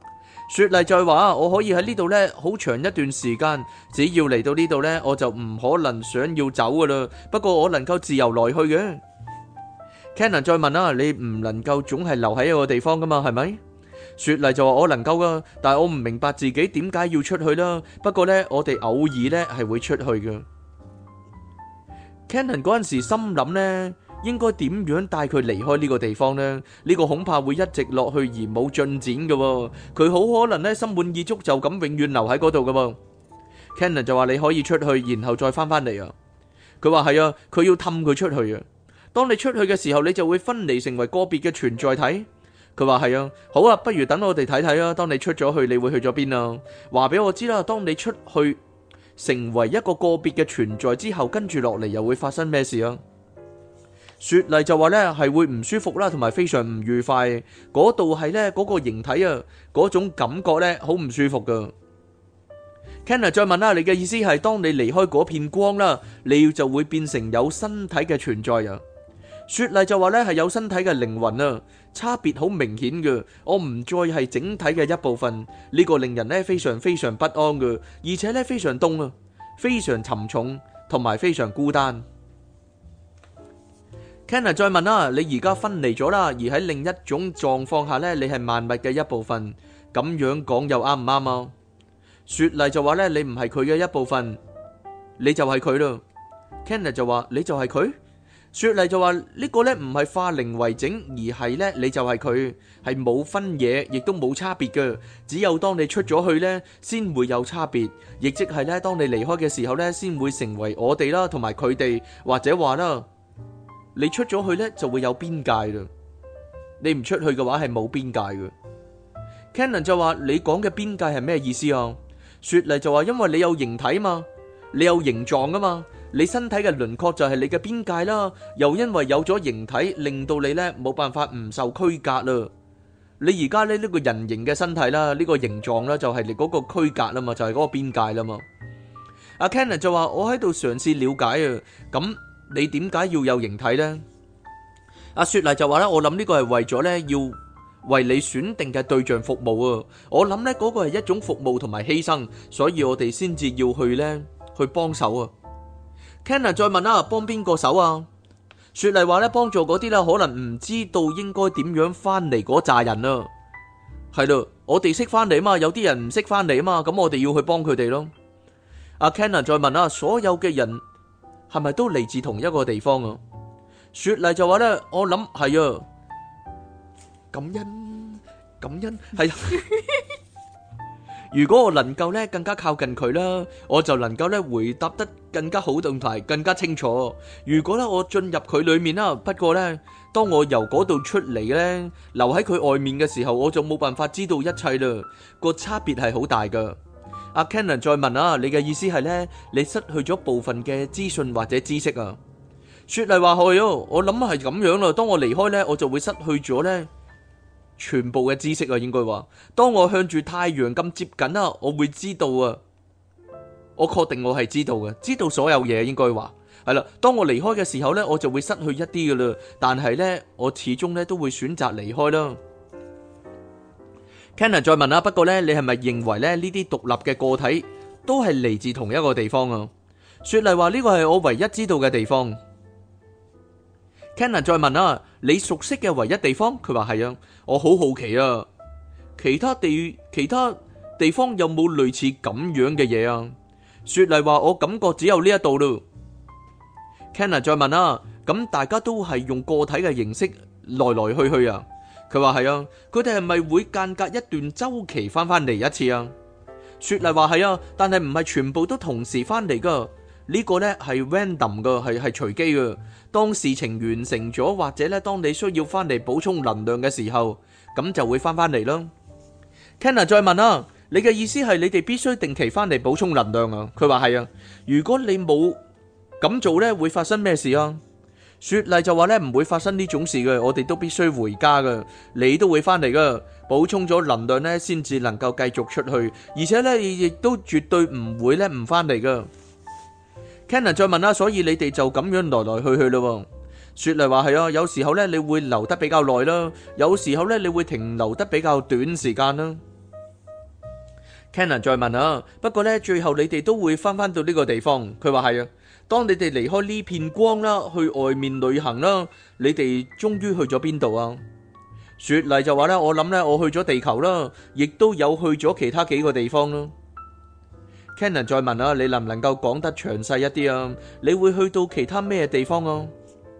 [SPEAKER 2] 雪莉再話我可以喺呢度呢好長一段時間，只要嚟到呢度呢，我就唔可能想要走噶啦。不過我能夠自由來去嘅。Cannon 再問你唔能夠總係留喺一個地方噶嘛，係咪？雪莉就話我能夠噶，但係我唔明白自己點解要出去啦。不過呢，我哋偶爾呢係會出去嘅。Cannon 嗰陣時心諗呢，應該點樣帶佢離開呢個地方呢？呢個恐怕會一直落去而冇進展嘅。佢好可能呢心滿意足就咁永遠留喺嗰度嘅。Cannon 就話你可以出去，然後再翻返嚟啊。佢話係啊，佢要氹佢出去啊。當你出去嘅時候，你就會分離成為個別嘅存在體。佢話係啊，好啊，不如等我哋睇睇啊。當你出咗去，你會去咗邊啊？話俾我知啦。當你出去成為一個個別嘅存在之後，跟住落嚟又會發生咩事啊？雪莉就話呢係會唔舒服啦，同埋非常唔愉快。嗰度係呢嗰個形體啊，嗰種感覺呢好唔舒服噶。Kenner 再問啦，你嘅意思係當你離開嗰片光啦，你就會變成有身體嘅存在啊？雪莉就話呢係有身體嘅靈魂啊，差別好明顯嘅。我唔再係整體嘅一部分，呢個令人呢非常非常不安嘅，而且呢非常凍啊，非常沉重，同埋非常孤單。Kenner 再問啦，你而家分離咗啦，而喺另一種狀況下呢，你係萬物嘅一部分，咁樣講又啱唔啱啊？雪莉就話呢，你唔係佢嘅一部分，你就係佢咯。Kenner 就話你就係佢。雪莉就話呢個呢唔係化零為整，而係呢你就係佢，係冇分野，亦都冇差別嘅。只有當你出咗去呢，先會有差別，亦即係呢，當你離開嘅時候呢，先會成為我哋啦，同埋佢哋，或者話啦，你出咗去呢就會有邊界啦。你唔出去嘅話係冇邊界嘅。Cannon 就話你講嘅邊界係咩意思啊？雪莉就話因為你有形體嘛，你有形狀啊嘛。你身體嘅輪廓就係你嘅邊界啦，又因為有咗形體，令到你呢冇辦法唔受區隔啦。你而家呢個人形嘅身體啦，呢個形狀啦，就係你嗰個區隔啦嘛，就係嗰個邊界啦嘛。阿 Cannon 就話我喺度嘗試了解啊，咁你點解要有形體呢？阿雪莉就話咧，我諗呢個係為咗呢要為你選定嘅對象服務啊。我諗呢嗰個係一種服務同埋犧牲，所以我哋先至要去幫手啊。Cannon 再問啦，幫邊個手啊？雪莉話咧，幫助嗰啲啦，可能唔知道應該點樣翻嚟嗰扎人啊。係咯，我哋識翻嚟啊嘛，有啲人唔識翻嚟啊嘛，咁我哋要去幫佢哋咯。阿 Cannon 再問啦，所有嘅人係咪都嚟自同一個地方啊？雪莉就話咧，我諗係啊，感恩係。如果我能夠咧更加靠近佢啦，我就能夠咧回答得更加好同埋更加清楚。如果咧我進入佢裏面啦，不過咧當我由嗰度出嚟咧，留喺佢外面嘅時候，我就冇辦法知道一切啦。個差別係好大噶。阿 Cannon 再問啊，你嘅意思係咧，你失去咗部分嘅資訊或者知識啊？雪莉話係哦，我諗係咁樣啦。當我離開咧，我就會失去咗咧全部嘅知識啊，應該話，當我向住太陽咁接近啊，我會知道啊，我確定我係知道嘅，知道所有嘢，應該話係啦。當我離開嘅時候呢，我就會失去一啲噶啦，但係呢，我始終呢都會選擇離開啦。Cannon 再問啊，不過呢，你係咪認為呢呢啲獨立嘅個體都係嚟自同一個地方啊？雪莉話呢個係我唯一知道嘅地方。Cannon 再問啊，你熟悉嘅唯一地方？佢話係啊，我好好奇啊，其他地方有冇類似咁樣嘅嘢啊？雪莉話我感覺只有呢一度咯。Cannon 再問啊，咁大家都係用個體嘅形式來來去去啊？佢話係啊，佢哋係咪會間隔一段周期翻嚟一次啊？雪莉話係啊，但係唔係全部都同時翻嚟噶。呢個呢係 random 噶，係隨機噶。當事情完成咗，或者呢當你需要翻嚟補充能量嘅時候，咁就會翻嚟啦。Kenner 再問啊，你嘅意思係你哋必須定期翻嚟補充能量啊？佢話係啊。如果你冇咁做呢，會發生咩事啊？雪莉就話呢，唔會發生呢種事嘅，我哋都必須回家噶，你都會翻嚟噶，補充咗能量呢，先至能夠繼續出去，而且呢亦都絕對唔會呢唔翻嚟噶。Cannon 再問啦，所以你哋就咁樣來來去去咯。雪莉話係啊，有時候咧你會留得比較耐啦，有時候咧你會停留得比較短時間啦。 Cannon 再問啊，不過呢，最後你哋都會翻到呢個地方。佢話係啊，當你哋離開呢片光啦，去外面旅行啦，你哋終於去咗邊度啊？雪莉就話呢，我諗呢，我去咗地球啦，亦都有去咗其他幾個地方啦。Cannon 再問啊，你能唔能夠講得詳細一啲啊？你會去到其他咩地方啊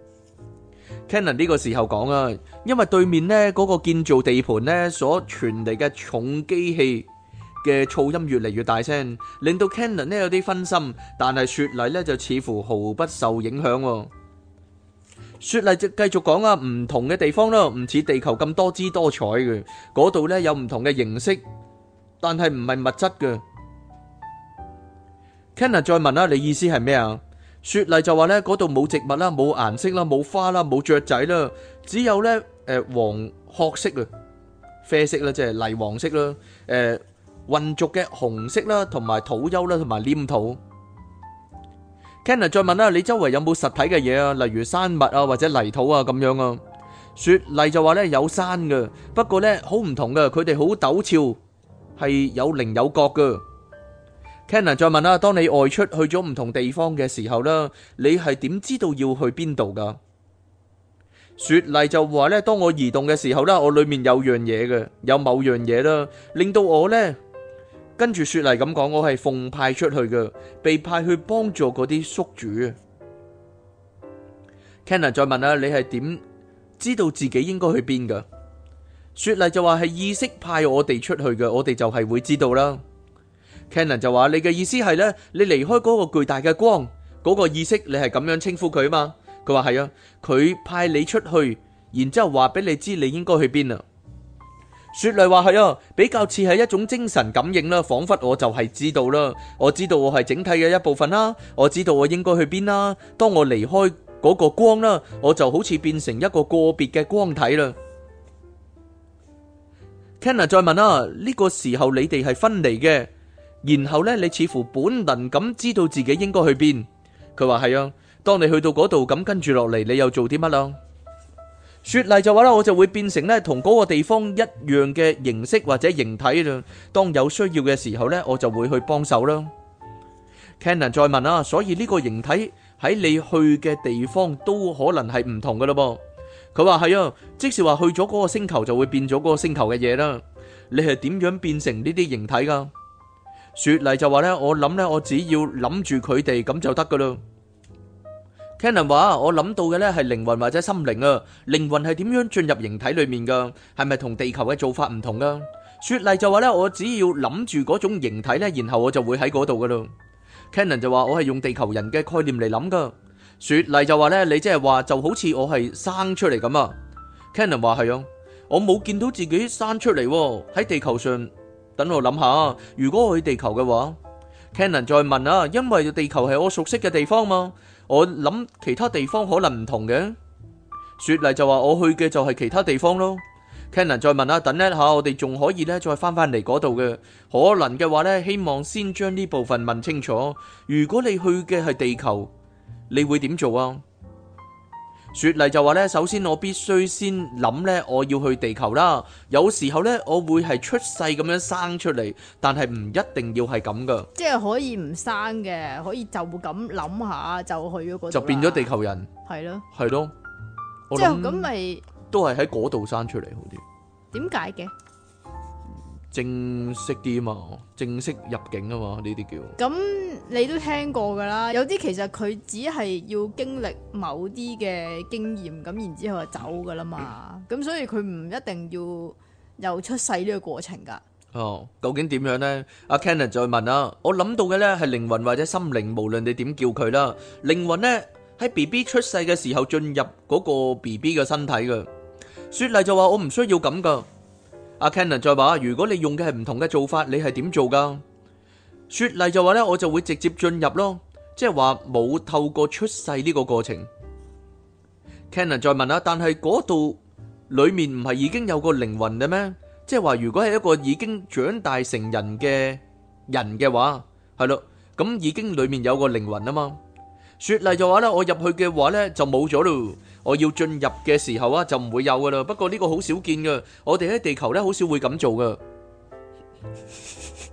[SPEAKER 2] ？Cannon 呢個時候講啊，因為對面呢嗰個建造地盤呢所傳嚟嘅重機器嘅噪音越嚟越大聲，令到 Cannon 呢有啲分心，但係雪莉呢就似乎毫不受影響。雪莉就繼續講啊，唔同嘅地方啦，唔似地球咁多姿多彩嘅，嗰度呢有唔同嘅形式，但係唔係物質嘅。Cannon 再問啦，你意思係咩啊？雪莉就話呢，嗰度冇植物啦，冇顏色啦，冇花啦，冇雀仔啦，只有呢黃褐色啊，啡色啦，即係泥黃色啦，混濁嘅紅色啦，同埋土丘啦，同埋黏土。Cannon 再問啦，你周圍有冇實體嘅嘢啊？例如山脈啊，或者泥土啊咁樣啊？雪莉就話呢，有山嘅，不過呢好唔同嘅，佢哋好陡峭，係有棱有角嘅。Cannon 再問啦，當你外出去咗唔同地方嘅時候啦，你係點知道要去邊度噶？雪莉就話咧，當我移動嘅時候啦，我裏面有樣嘢嘅，有某樣嘢啦，令到我呢，跟住雪莉咁講，我係奉派出去嘅，被派去幫助嗰啲宿主啊。Cannon 再問啦，你係點知道自己應該去邊噶？雪莉就話係意識派我哋出去嘅，我哋就係會知道啦。Cannon 就話，你嘅意思係呢，你離開嗰個巨大嘅光，嗰個意識，你係咁樣稱呼佢嘛？佢話係啊，佢派你出去，然之後話俾你知你應該去邊啊。雪莉話係啊，比較似係一種精神感應啦，仿佛我就係知道啦，我知道我係整體嘅一部分啦，我知道我應該去邊啦。當我離開嗰個光啦，我就好似變成一個個別嘅光體啦。Cannon 再問啦，呢個時候你哋係分離嘅。然後呢，你似乎本能咁知道自己應該去邊。佢話係啊，當你去到嗰度咁跟住落嚟，你又做啲乜啊？雪莉就話啦，我就會變成呢同嗰個地方一樣嘅形式或者形體啦。當有需要嘅時候呢，我就會去幫手啦。Cannon 再問啊，所以呢個形體喺你去嘅地方都可能係唔同噶咯噃。佢話係啊，即是話去咗嗰個星球就會變咗嗰個星球嘅嘢啦。你係點樣變成呢啲形體噶？雪莉就話咧，我諗咧，我只要諗住佢哋咁就得噶啦。Cannon 話，我諗到嘅咧係靈魂或者心靈啊，靈魂係點樣進入形體裏面噶？係咪同地球嘅做法唔同噶？雪莉就話咧，我只要諗住嗰種形體咧，然後我就會喺嗰度噶啦。Cannon 就話，我係用地球人嘅概念嚟諗噶。雪莉就話咧，你即係話就好似我係生出嚟咁啊。Cannon 話係啊，我冇見到自己生出嚟喺地球上。等我諗下，如果我去地球嘅話，Cannon 再問啊，因為地球係我熟悉嘅地方嘛，我諗其他地方可能唔同嘅。雪莉就話我去嘅就係其他地方咯。Cannon 再問啊，等一下我哋仲可以咧再翻返嚟嗰度嘅，可能嘅話咧，希望先將呢部分問清楚。如果你去嘅係地球，你會點做啊？雪莉就話咧，首先我必須先諗咧，我要去地球啦。有時候咧，我會係出世咁樣生出嚟，但係唔一定要係咁噶。
[SPEAKER 1] 即係可以唔生嘅，可以就咁諗下就去咗嗰度，
[SPEAKER 2] 就變咗地球人。
[SPEAKER 1] 係咯，
[SPEAKER 2] 係咯，
[SPEAKER 1] 即係咁咪
[SPEAKER 2] 都係喺嗰度生出嚟好啲。
[SPEAKER 1] 點解嘅？
[SPEAKER 2] 正式啲啊嘛，正式入境啊嘛，呢啲叫。
[SPEAKER 1] 咁你都聽過噶啦，有啲其實佢只係要經歷某啲嘅經驗，咁然之後就走噶啦嘛。咁所以佢唔一定要有出世呢個過程噶。
[SPEAKER 2] 哦，究竟點樣呢？阿 Cannon 再問啊，我諗到嘅呢係靈魂或者心靈，無論你點叫佢啦。靈魂呢喺 BB 出世嘅時候進入嗰個 BB 嘅身體嘅。雪莉就話我唔需要咁噶。阿 Cannon 再話，如果你用嘅係唔同嘅做法，你係點做噶？雪莉就話咧，我就會直接進入咯，即係話冇透過出世呢個過程。Cannon 再問啦，但係嗰度裏面唔係已經有個靈魂嘅咩？即係話如果係一個已經長大成人嘅人嘅話，係咯，咁已經裏面有個靈魂啊嘛。雪莉就話咧，我入去嘅話咧就冇咗咯。我要進入嘅時候啊，就唔會有噶啦。不過呢個好少見噶，我哋喺地球咧好少會咁做噶。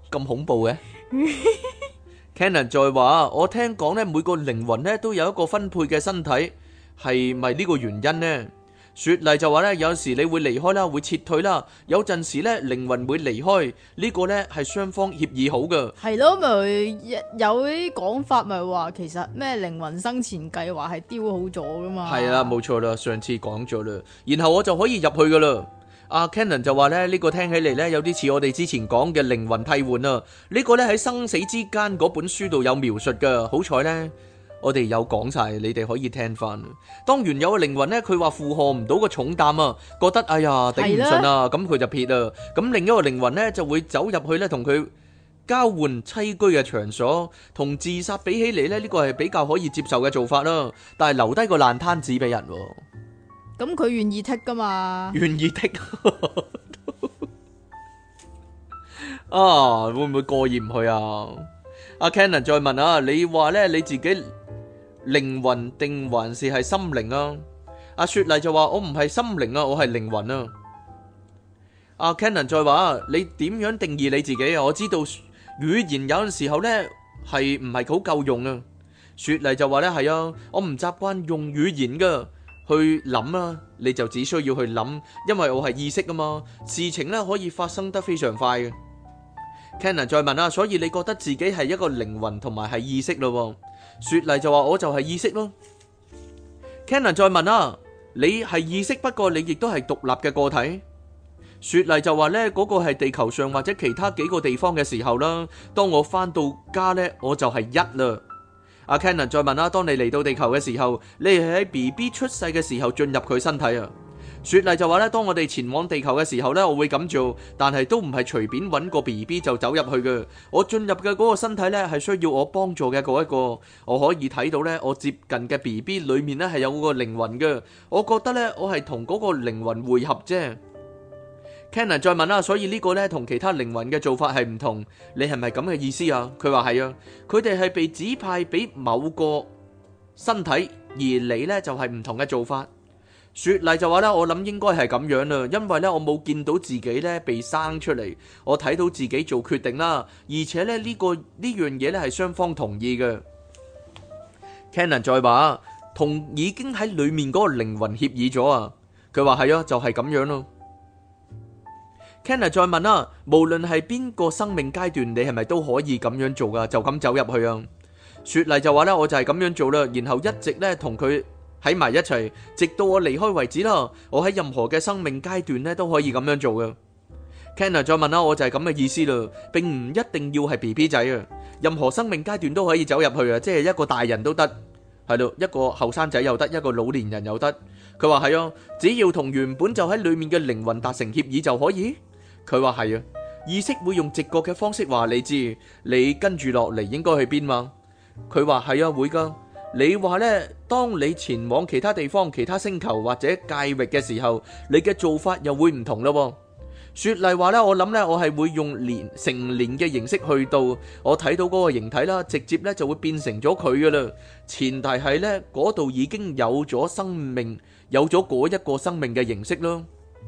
[SPEAKER 2] 咁恐怖嘅。Cannon 再話：我聽講咧，每個靈魂咧都有一個分配嘅身體，係咪呢個原因呢？雪莉就話咧，有時你會離開啦，會撤退啦，有陣時咧靈魂會離開，呢個咧係雙方協議好嘅。
[SPEAKER 1] 係咯，咪有啲講法咪話，其實咩靈魂生前計劃係雕好咗噶嘛？
[SPEAKER 2] 係啦，冇錯啦，上次講咗啦，然後我就可以入去噶啦。阿 Cannon 就話咧，呢個聽起嚟咧有啲似我哋之前講嘅靈魂替換啊，呢個咧喺生死之間嗰本書度有描述噶，好彩咧。我哋有講晒，你哋可以聽翻。當原有嘅靈魂呢，佢話負荷唔到個重擔啊，覺得哎呀頂唔順啊，咁佢就撇啊。咁另一個靈魂呢，就會走入去呢，同佢交換棲居嘅場所。同自殺比起嚟呢，呢個係比較可以接受嘅做法啦。但係留低個爛攤子俾人，
[SPEAKER 1] 咁佢願意剔噶嘛？
[SPEAKER 2] 願意剔啊？會唔會過意唔去啊？阿 Cannon 再問啊，你話呢，你自己靈魂定還是係心靈啊？阿雪莉就話：我唔係心靈啊，我係靈魂啊。阿 Cannon 再話：你點樣定義你自己啊？我知道語言有陣時候呢係唔係好夠用啊。雪莉就話呢係啊，我唔習慣用語言噶去諗啊，你就只需要去諗，因為我係意識啊嘛，事情呢可以發生得非常快嘅。Cannon 再問啊，所以你覺得自己係一個靈魂同埋係意識咯？雪莉就話：我就係意識咯。Cannon 再問啊，你係意識，不過你亦都係獨立嘅個體。雪莉就話呢，嗰個係地球上或者其他幾個地方嘅時候啦。當我翻到家呢，我就係一啦。阿 Cannon 再問啊，當你嚟到地球嘅時候，你係喺 BB 出世嘅時候進入佢身體啊？雪莉就話咧，當我哋前往地球嘅時候咧，我會咁做，但係都唔係隨便揾個 BB 就走入去嘅。我進入嘅嗰個身體咧，係需要我幫助嘅嗰一個。我可以睇到咧，我接近嘅 BB 裏面咧係有個靈魂嘅。我覺得咧，我係同嗰個靈魂匯合啫。Cannon 再問啦，所以呢個咧同其他靈魂嘅做法係唔同，你係咪咁嘅意思啊？佢話係啊，佢哋係被指派俾某個身體，而你咧就係唔同嘅做法。雪莉就話咧，我諗應該係咁樣啦，因為咧我冇見到自己咧被生出嚟，我睇到自己做決定啦，而且咧呢樣嘢咧係雙方同意嘅。Cannon 再話，同已經喺裏面嗰個靈魂協議咗啊，佢話係啊，就係咁樣咯。Cannon 再問啦，無論係邊個生命階段，你係咪都可以咁樣做噶？就咁走入去啊？雪莉就話咧，我就係咁樣做啦，然後一直咧同佢喺埋一齊，直到我離開為止啦。我喺任何嘅生命階段咧都可以咁樣做嘅。Cannon 再問啦，我就係咁嘅意思啦，並唔一定要係 BB 仔啊，任何生命階段都可以走入去啊，即係一個大人都得，係咯，一個後生仔又得，一個老年人又得。佢話係啊，只要同原本就喺裏面嘅靈魂達成協議就可以。佢話係啊，意識會用直覺嘅方式話你知，你跟住落嚟應該去邊嘛？佢話係啊，會噶。你話呢，當你前往其他地方、其他星球或者界域嘅時候，你嘅做法又會唔同咯。雪莉話呢，我諗呢，我係會用成年嘅形式去到，我睇到嗰個形體啦，直接呢就會變成咗佢噶啦。前提係呢，嗰度已經有咗生命，有咗嗰一個生命嘅形式咯。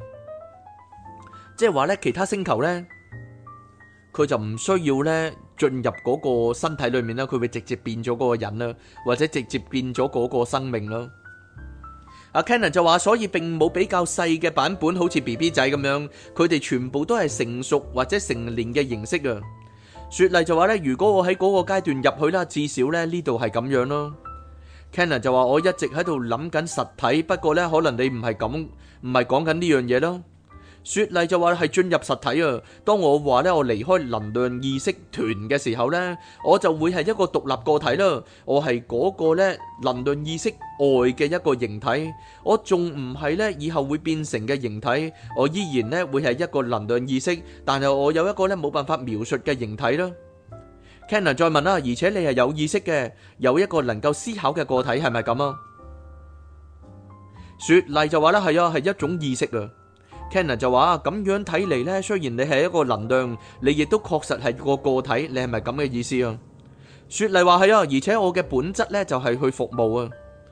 [SPEAKER 2] 即係話呢，其他星球呢，佢就唔需要呢進入嗰個身體裏面啦，佢會直接變咗嗰個人啦，或者直接變咗嗰個生命啦。阿 Cannon 就話，所以並冇比較細嘅版本，好似 BB 仔咁樣，佢哋全部都係成熟或者成年嘅形式啊。雪莉就話呢，如果我喺嗰個階段入去啦，至少呢呢度係咁樣咯。Cannon 就話，我一直喺度諗緊實體，不過呢可能你唔係講緊呢樣嘢咯。雪莉就話係進入實體啊。當我話咧我離開能量意識團嘅時候呢，我就會係一個獨立個體啦。我係嗰個咧能量意識外嘅一個形體，我仲唔係咧以後會變成嘅形體。我依然咧會係一個能量意識，但係我有一個咧冇辦法描述嘅形體啦。Cannon 再問啦，而且你係有意識嘅，有一個能夠思考嘅個體，係咪咁啊？雪莉就話咧係啊，係一種意識啊。Cannon 就話咁樣睇嚟呢，雖然你係一個能量，你亦都確實係個體，你係咪咁嘅意思啊？雪莉話係啊，而且我嘅本質呢就係去服務啊。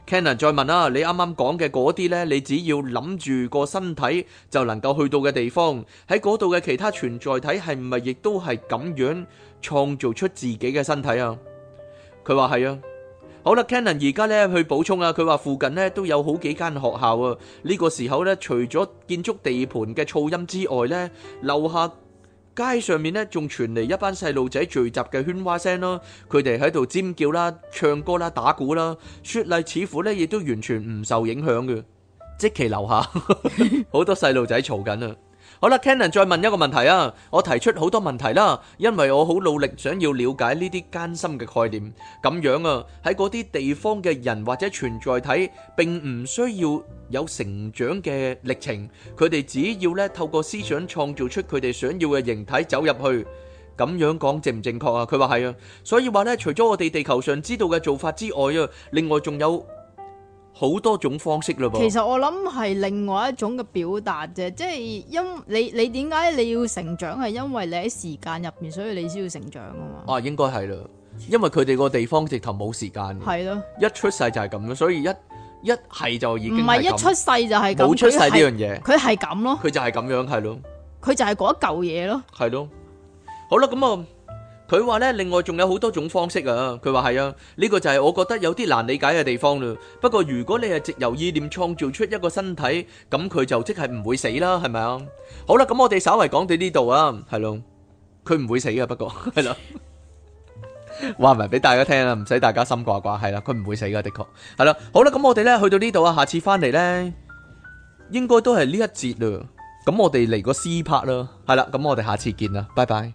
[SPEAKER 2] Cannon 再問啦，你啱啱講嘅嗰啲呢，你只要諗住個身體就能夠去到嘅地方，喺嗰度嘅其他存在體係唔係亦都係咁樣創造出自己嘅身體啊？佢話係啊。好啦 ，Cannon 而家呢去補充啊，佢話附近呢都有好幾間學校啊。呢個時候呢，除咗建築地盤嘅噪音之外呢，樓下街上面呢仲傳嚟一班細路仔聚集嘅喧嘩聲啦，佢哋喺度尖叫啦、唱歌啦、打鼓啦。雪莉似乎呢亦都完全唔受影響嘅，即其樓下好多細路仔嘈緊啊！好啦 ，Cannon 再問一個問題啊！我提出好多問題啦，因為我好努力想要了解呢啲艱深嘅概念。咁樣啊，喺嗰啲地方嘅人或者存在體並唔需要有成長嘅歷程，佢哋只要咧透過思想創造出佢哋想要嘅形體走入去。咁樣講正唔正確啊？佢話係啊，所以話咧，除咗我哋地球上知道嘅做法之外啊，另外仲有好多種方式咯噃。
[SPEAKER 1] 其實我諗係另外一種嘅表達啫，即係你點解你要成長係因為你喺時間入邊，所以你先要成長啊嘛。
[SPEAKER 2] 啊，應該係啦，因為佢哋個地方直頭冇時間嘅。
[SPEAKER 1] 係咯，
[SPEAKER 2] 一出世就係咁樣，所以一係就已經
[SPEAKER 1] 唔係一出世就係咁，
[SPEAKER 2] 冇出世呢樣嘢，
[SPEAKER 1] 佢係咁咯，
[SPEAKER 2] 佢就係咁樣，係咯，
[SPEAKER 1] 佢就係嗰一嚿嘢咯，
[SPEAKER 2] 係咯。好啦，咁啊。佢話咧，另外仲有好多種方式啊！佢話係啊，呢個就係我覺得有啲難理解嘅地方啦。不過如果你係藉由意念創造出一個身體，咁佢就即係唔會死啦，係咪啊？好啦，咁我哋稍為講到呢度啊，係咯，佢唔會死嘅，不過係啦，話埋俾大家聽啊，唔使大家心掛掛，係啦，佢唔會死嘅，的確係啦。好啦，咁我哋咧去到呢度啊，下次翻嚟咧，應該都係呢一節啦。咁我哋嚟個 C part 啦，係啦，咁我哋下次見啦，拜拜。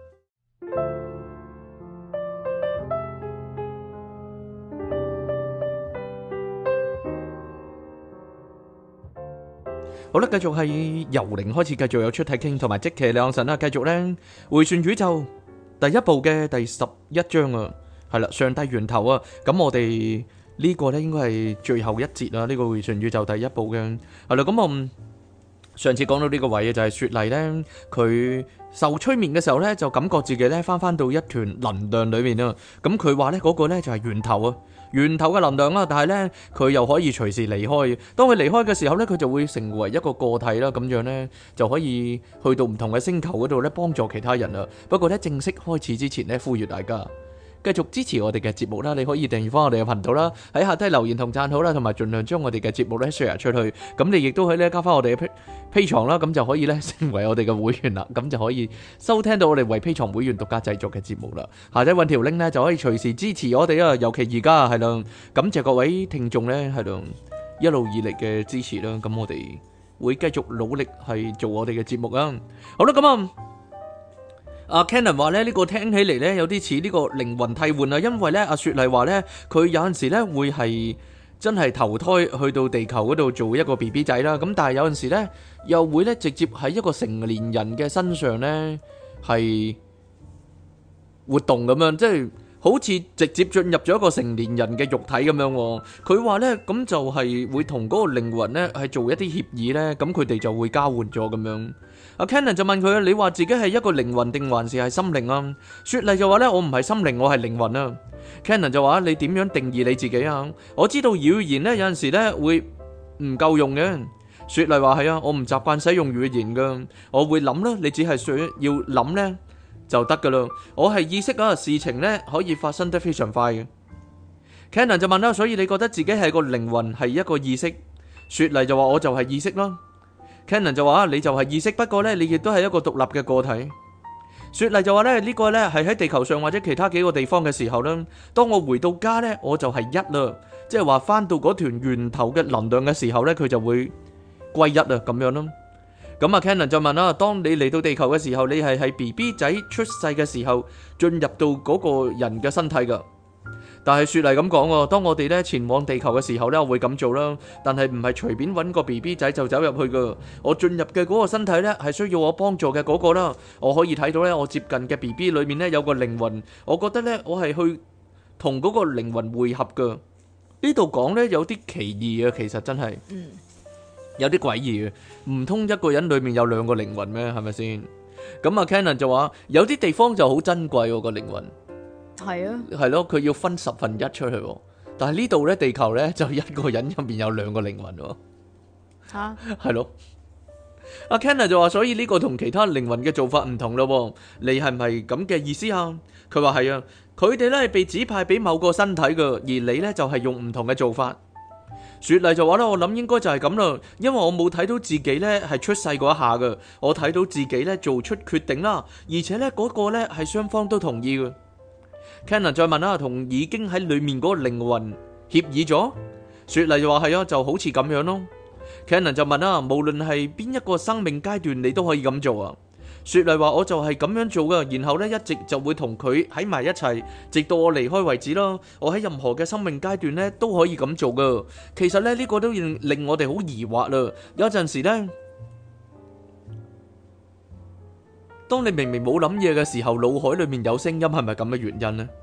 [SPEAKER 2] 好啦，繼續係由零開始，繼續有出體傾同埋即其兩神啦。繼續咧回旋宇宙第一部嘅第11章啊，係啦，上帝源頭啊。咁我哋呢個咧應該係最後一節啊。呢個回旋宇宙第一部嘅係啦。咁我上次講到呢個位嘅就係雪莉咧，佢受催眠嘅時候咧，就感覺自己咧翻到一團能量裏面啊。咁佢話咧嗰個咧就係源頭啊。源頭嘅能量啦，但係咧佢又可以隨時離開。當佢離開嘅時候咧，佢就會成為一個個體啦，咁樣咧就可以去到唔同嘅星球嗰度咧幫助其他人啦。不過咧正式開始之前咧，呼籲大家繼續支持我哋嘅節目啦，你可以訂閱翻我哋嘅頻道啦，喺下低留言同讚好啦，同埋盡量將我哋嘅節目咧 share 出去。咁你亦都可以咧加翻我哋嘅Patreon啦，咁就可以咧成為我哋嘅會員啦，咁就可以收聽到我哋為Patreon會員獨家製作嘅節目啦。下低揾條 link 咧就可以隨時支持我哋啊，尤其而家係咯，感謝各位聽眾咧係咯一路以嚟嘅支持啦。咁我哋會繼續努力係做我哋嘅節目啊。好啦，咁啊。阿 Cannon 話咧呢個聽起嚟咧有啲似呢個靈魂替換啊，因為咧阿雪莉話咧佢有陣時咧會係真係投胎去到地球嗰度做一個 BB 仔啦，咁但係有陣時咧又會咧直接喺一個成年人嘅身上咧係活動咁樣，即係好似直接進入咗一個成年人嘅肉體咁樣。佢話咧咁就係會同嗰個靈魂咧係做一啲協議咧，咁佢哋就會交換咗咁樣。阿 Cannon 就問佢：你話自己係一個靈魂定還是係心靈啊？雪莉就話咧：我唔係心靈，我係靈魂啊。Cannon 就話：你點樣定義你自己啊？我知道語言咧有陣時咧會唔夠用嘅。雪莉話：係啊，我唔習慣使用語言噶，我會諗啦，你只係需要諗咧就得噶啦。我係意識啊，事情咧可以發生得非常快嘅。Cannon 就問啦：所以你覺得自己係個靈魂係一個意識？雪莉就話：我就係意識啦。Cannon 就話：你就係意識，不過咧，你亦都係一個獨立嘅個體。雪莉就話咧：呢個咧係喺地球上或者其他幾個地方嘅時候咧，當我回到家咧，我就係一啦，即係話翻到嗰團源頭嘅能量嘅時候咧，佢就會歸一啊，咁樣咯。咁啊 ，Cannon 就問啦：當你嚟到地球嘅時候，你係喺 BB 仔出世嘅時候進入到嗰個人嘅身體噶？但係雪莉咁講喎，當我哋咧前往地球嘅時候咧，我會咁做啦。但係唔係隨便揾個 BB 仔就走入去噶。我進入嘅嗰個身體咧，係需要我幫助嘅嗰個啦。我可以睇到咧，我接近嘅 BB 裏面咧有個靈魂。我覺得咧，我係去同嗰個靈魂會合噶。呢度講咧有啲奇異啊，其實真係，有啲詭異嘅。唔通一個人裏面有兩個靈魂咩？係咪先？咁啊 Cannon 就話有啲地方就好珍貴喎個靈魂。
[SPEAKER 1] 係啊，
[SPEAKER 2] 係咯，佢要分1/10出去， 但係呢度咧，地球咧就一個人入面有兩個靈魂喎。
[SPEAKER 1] 吓，
[SPEAKER 2] 係咯。阿 Kenner 就話，所以呢個同其他靈魂嘅做法唔同咯。你係唔係咁嘅意思啊？佢話係啊，佢哋咧係被指派俾某個身體嘅，而你咧就係用唔同嘅做法。雪莉就話咧，我諗應該就係咁啦，因為我冇睇到自己咧係出世嗰一下嘅，我睇到自己咧做出決定啦，而且咧嗰個咧係雙方都同意嘅。Kenner 再問啦，同已經喺裏面嗰個靈魂協議咗？雪莉就話係啊，就好似咁樣咯。Cannon 就問啦，無論係邊一個生命階段，你都可以咁做啊？雪莉話，我就係咁樣做噶，然後咧一直就會同佢喺埋一齊，直到我離開為止咯。我喺任何嘅生命階段咧都可以咁做噶。其實咧呢個都令我哋好疑惑啦。有陣時咧，當你明明冇諗嘢嘅時候，腦海裏面有聲音，係咪咁嘅原因呢？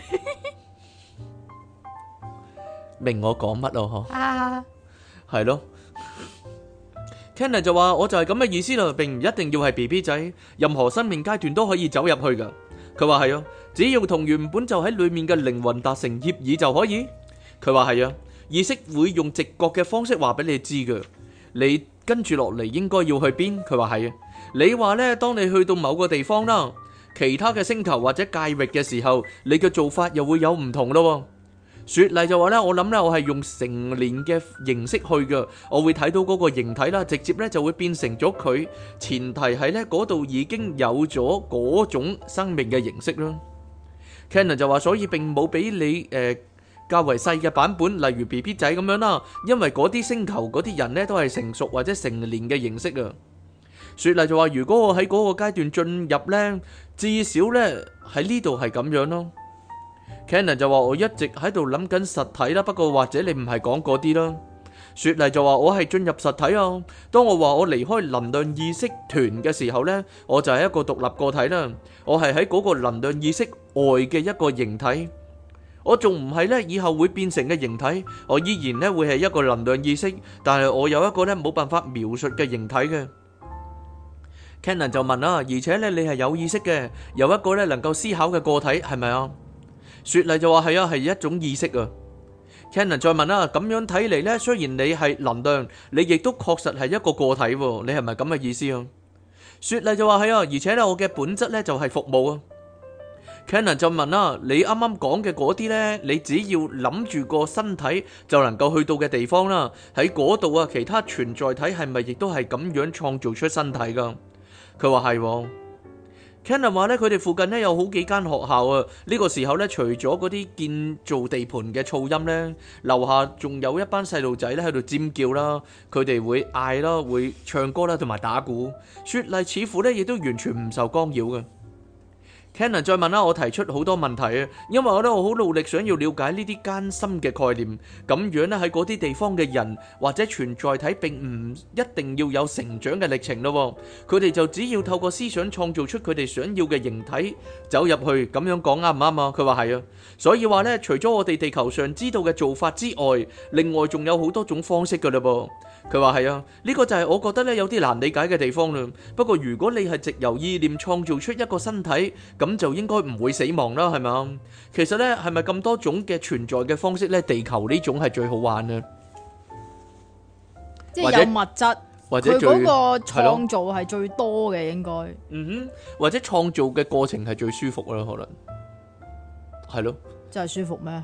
[SPEAKER 2] 明我講乜咯？嗬，係咯。Kenner 就話，我就係咁嘅意思啦，並唔一定要係 BB 仔，任何生命階段都可以走入去噶。佢話係啊，只要同原本就喺裏面嘅靈魂達成協議就可以。佢話係啊，意識會用直覺嘅方式話俾你知噶，你跟住落嚟應該要去邊。佢話係啊，你話呢，當你去到某個地方啦，其他嘅星球或者界域嘅時候，你嘅做法又會有唔同咯。雪莉就話咧，我諗咧，我係用成年嘅形式去嘅，我會睇到嗰個形體啦，直接咧就會變成咗佢。前提係咧嗰度已經有咗嗰種生命嘅形式啦。Cannon 就話，所以並冇俾你較為細嘅版本，例如 BB 仔咁樣啦，因為嗰啲星球嗰啲人咧都係成熟或者成年嘅形式啊。雪莉就話，如果我喺嗰個階段進入咧，至少咧喺呢度係咁樣咯。Cannon 就話，我一直喺度諗緊實體啦，不過或者你唔係講嗰啲啦。雪莉就話，我係進入實體啊。當我話我離開能量意識團嘅時候呢，我就係一個獨立個體啦。我係喺嗰個能量意識外嘅一個形體，我仲唔係呢以後會變成嘅形體，我依然呢會係一個能量意識，但係我有一個呢冇辦法描述嘅形體嘅。Cannon 就問啦，而且呢你係有意識嘅，有一個呢能夠思考嘅個體，係咪啊？雪莉就話係啊，係一種意識啊。Cannon 再問啦，咁樣睇嚟呢，雖然你係能量，你亦都確實係一個個體，你係咪咁嘅意思啊？雪莉就話係啊，而且呢，我嘅本質呢就係服務啊。Cannon 就問啦，你啱啱講嘅嗰啲呢，你只要諗住個身體就能夠去到嘅地方啦，喺嗰度啊，其他存在體係咪亦都係咁樣創造出身體噶？佢話係。Cannon 話咧，佢哋附近咧有好幾間學校啊。呢個時候咧，除咗嗰啲建造地盤嘅噪音咧，樓下仲有一班細路仔咧喺度尖叫啦，佢哋會嗌啦，會唱歌啦，同埋打鼓。雪莉似乎咧亦都完全唔受干擾嘅。Cannon 再問啦，我提出好多問題啊，因為我好努力想要了解呢啲艱深嘅概念，咁樣咧喺嗰啲地方嘅人或者存在體並唔一定要有成長嘅歷程咯，佢哋就只要透過思想創造出佢哋想要嘅形體走入去，咁樣講啱唔啱啊？佢話係啊，所以話咧，除咗我哋地球上知道嘅做法之外，另外仲有好多種方式噶啦噃。佢話係啊，呢個就係我覺得咧有啲難理解嘅地方啦。不過如果你係藉由意念創造出一個身體，咁就應該唔會死亡啦，係咪啊？其實咧，係咪咁多種嘅存在嘅方式咧？地球呢種係最好玩嘅，
[SPEAKER 1] 即係有物質，
[SPEAKER 2] 或者
[SPEAKER 1] 佢嗰個創造係最多嘅，應該。
[SPEAKER 2] 嗯哼，或者創造嘅過程係最舒服啦，可能係咯。
[SPEAKER 1] 真係舒服咩？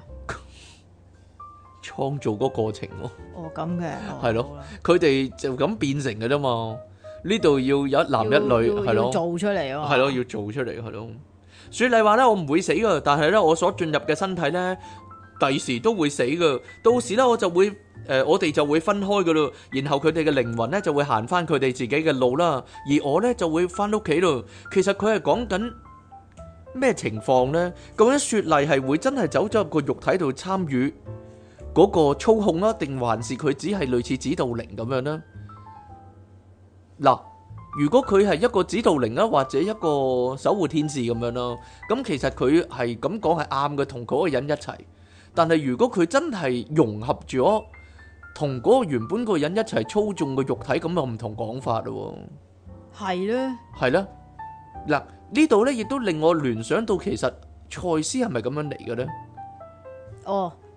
[SPEAKER 2] 創造嗰個過程咯。
[SPEAKER 1] 哦，咁嘅。
[SPEAKER 2] 係咯，佢哋就咁變成嘅啫嘛。呢度要有一男一女，係咯，
[SPEAKER 1] 做出嚟啊，
[SPEAKER 2] 係咯，要做出嚟，係咯。雪莉話咧，我唔會死噶，但係咧，我所進入嘅身體咧，第時都會死噶。到時咧，我哋就會分開噶咯。然後佢哋嘅靈魂咧就會行翻佢哋自己嘅路啦，而我咧就會翻屋企咯。其實佢係講緊咩情況咧？究竟雪莉係會真係走咗入個肉體度參與嗰個操控啦，定還是佢只係類似指導靈咁樣呢？嗱，如果佢係一個指導靈啊，或者一個守護天使咁樣咯，咁其實佢係咁講係啱嘅，同嗰個人一齊。但係如果佢真係融合咗同嗰個原本個人一齊操縱個肉體，咁又唔同講法咯。
[SPEAKER 1] 係咧，
[SPEAKER 2] 係咧。嗱，呢度咧亦都令我聯想到，其實賽斯係咪咁樣嚟嘅咧？
[SPEAKER 1] 哦。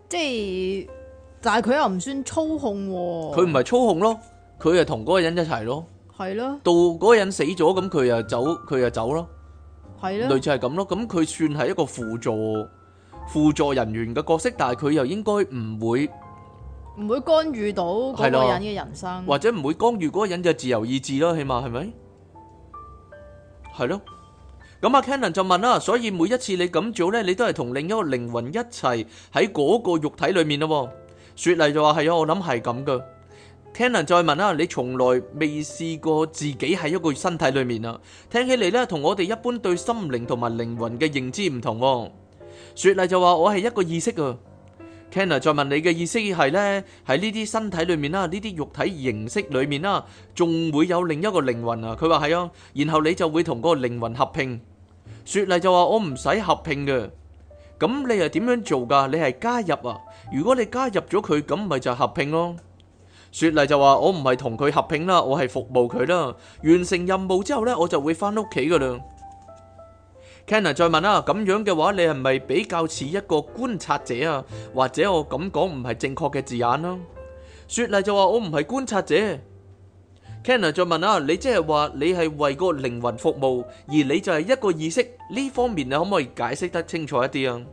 [SPEAKER 1] 即係，但係佢又唔算操控喎。
[SPEAKER 2] 佢唔係操控咯，佢係同嗰個人一齊咯。
[SPEAKER 1] 係咯，
[SPEAKER 2] 到嗰個人死咗，咁佢又走咯，
[SPEAKER 1] 係咯，
[SPEAKER 2] 類似係咁咯。咁佢算係一個輔助人員嘅角色，但係佢又應該唔會
[SPEAKER 1] 干預到嗰個人嘅人生，
[SPEAKER 2] 或者唔會干預嗰個人嘅自由意志咯，起碼係咪？係咯。咁阿 Cannon 就問啦，所以每一次你咁做呢，你都係同另一個靈魂一齊喺嗰個肉體裏面咯。雪莉就話係啊，我諗係咁噶。Cannon 再問啦，你從來未試過自己喺一個身體裏面啊？聽起嚟呢，同我哋一般對心靈同埋靈魂嘅認知唔同。雪莉就話我係一個意識啊。Cannon 再問你嘅意識係呢，喺呢啲身體裏面啦，呢啲肉體形式裏面啦，仲會有另一個靈魂啊？佢話係啊，然後你就會同嗰個靈魂合併。雪莉就話我唔使合併嘅。咁你係點樣做噶？你係加入啊？如果你加入咗佢，咁咪就合併咯。雪莉就話我唔係同佢合併啦，我係服務佢啦。完成任務之後呢，我就會翻屋企噶啦。Cannon 再問啦，咁樣嘅話，你係咪比較似一個觀察者啊？或者我咁講唔係正確嘅字眼啦？雪莉就話我唔係觀察者。Cannon 再問啦，你即係話你係為個靈魂服務，而你就係一個意識，呢方面你可唔可以解釋得清楚一啲啊？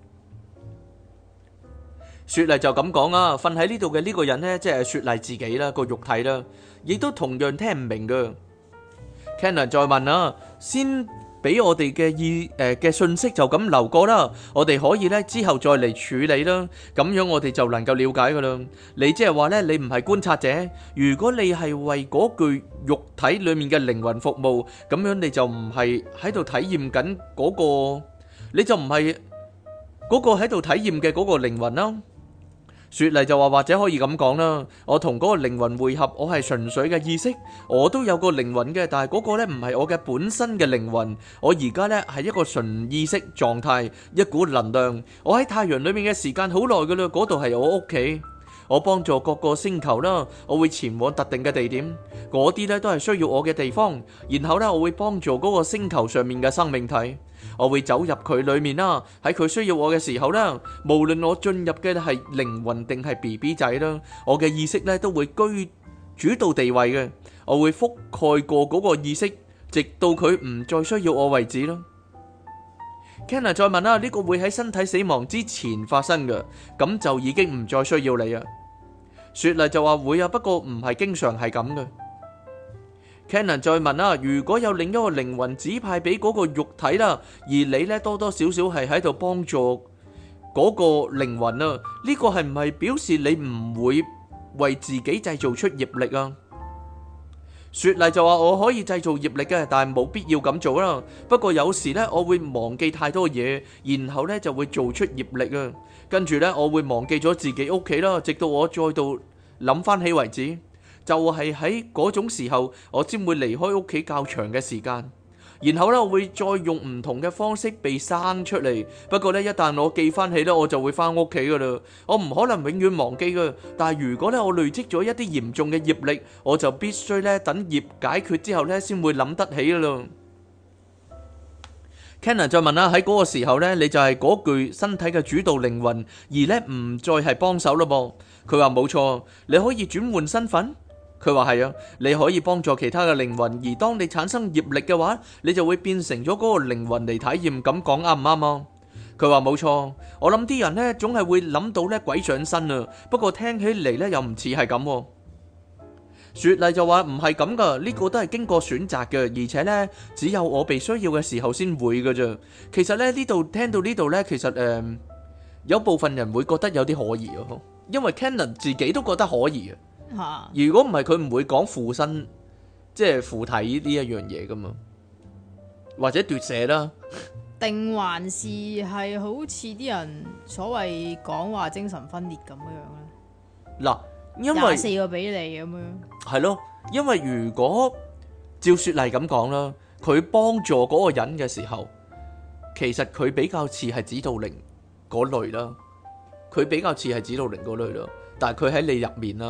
[SPEAKER 2] 雪莉就咁講啊，瞓喺呢度嘅呢個人呢，即係雪莉自己啦，個肉體啦，亦都同樣聽唔明噶。Cannon 再問啊，先俾我哋嘅信息就咁流過啦，我哋可以呢之後再嚟處理啦，咁樣我哋就能夠了解噶啦。你即係話呢，你唔係觀察者，如果你係為嗰具肉體裏面嘅靈魂服務，咁樣你就唔係喺度體驗緊嗰個，你就唔係嗰個喺度體驗嘅嗰個靈魂啦。雪莉就話或者可以咁講啦，我同嗰個靈魂會合，我係純粹嘅意識，我都有個靈魂嘅，但係嗰個呢唔係我嘅本身嘅靈魂，我而家呢係一個純意識狀態，一股能量，我喺太陽裏面嘅時間好耐噶啦，嗰度係我屋企，我幫助各個星球啦，我會前往特定嘅地點，嗰啲呢都係需要我嘅地方，然後呢我會幫助嗰個星球上面嘅生命體。我會走入佢裏面啦，喺佢需要我嘅時候啦，無論我進入嘅係靈魂定係 BB 仔啦，我嘅意識咧都會居主導地位嘅，我會覆蓋過嗰個意識，直到佢唔再需要我為止咯。Cannon 再問啦，呢個會喺身體死亡之前發生嘅，咁就已經唔再需要你啊。雪莉就話會啊，不過唔係經常係咁嘅。Cannon 再問啦，如果有另一個靈魂指派俾嗰個肉體啦，而你咧多多少少係喺度幫助嗰個靈魂啊，呢個係唔係表示你唔會為自己製造出業力啊？雪莉就話我可以製造業力嘅，但係冇必要咁做啦。不過有時呢，我會忘記太多嘢，然後呢就會做出業力啊。跟住呢，我會忘記咗自己屋企啦，直到我再度諗翻起為止。就係喺嗰種時候，我先會離開屋企較長嘅時間，然後咧我會再用唔同嘅方式被生出嚟。不過咧，一旦我記翻起咧，我就會翻屋企噶啦。我唔可能永遠忘記噶。但係如果咧我累積咗一啲嚴重嘅業力，我就必須咧等業解決之後咧，先會諗得起噶啦。Cannon 再問啦，喺嗰個時候咧，你就係嗰具身體嘅主導靈魂，而咧唔再係幫手咯噃。佢話冇錯，你可以轉換身份。佢話係啊，你可以幫助其他嘅靈魂，而當你產生業力嘅話，你就會變成咗嗰個靈魂嚟體驗。咁講啱唔啱啊？佢話冇錯，我諗啲人呢總係會諗到呢鬼上身啊，不過聽起嚟呢又唔似係咁。雪莉就話唔係咁噶，呢個都係經過選擇嘅，而且呢只有我被需要嘅時候先會噶啫。其實呢呢度聽到呢度呢，其實有部分人會覺得有啲可疑啊，因為 Cannon 自己都覺得可疑啊。如果唔係佢唔會講附身，即係附體呢一樣嘢噶嘛，或者奪舍啦，
[SPEAKER 1] 定還是係好似啲人所謂講話精神分裂咁樣咧？
[SPEAKER 2] 嗱，因為
[SPEAKER 1] 24個俾你咁樣，
[SPEAKER 2] 係咯，因為如果照雪莉咁講啦，佢幫助嗰個人嘅時候，其實佢比較似係指導靈嗰類啦，佢比較似係指導靈嗰類啦，但係佢喺你入面啦。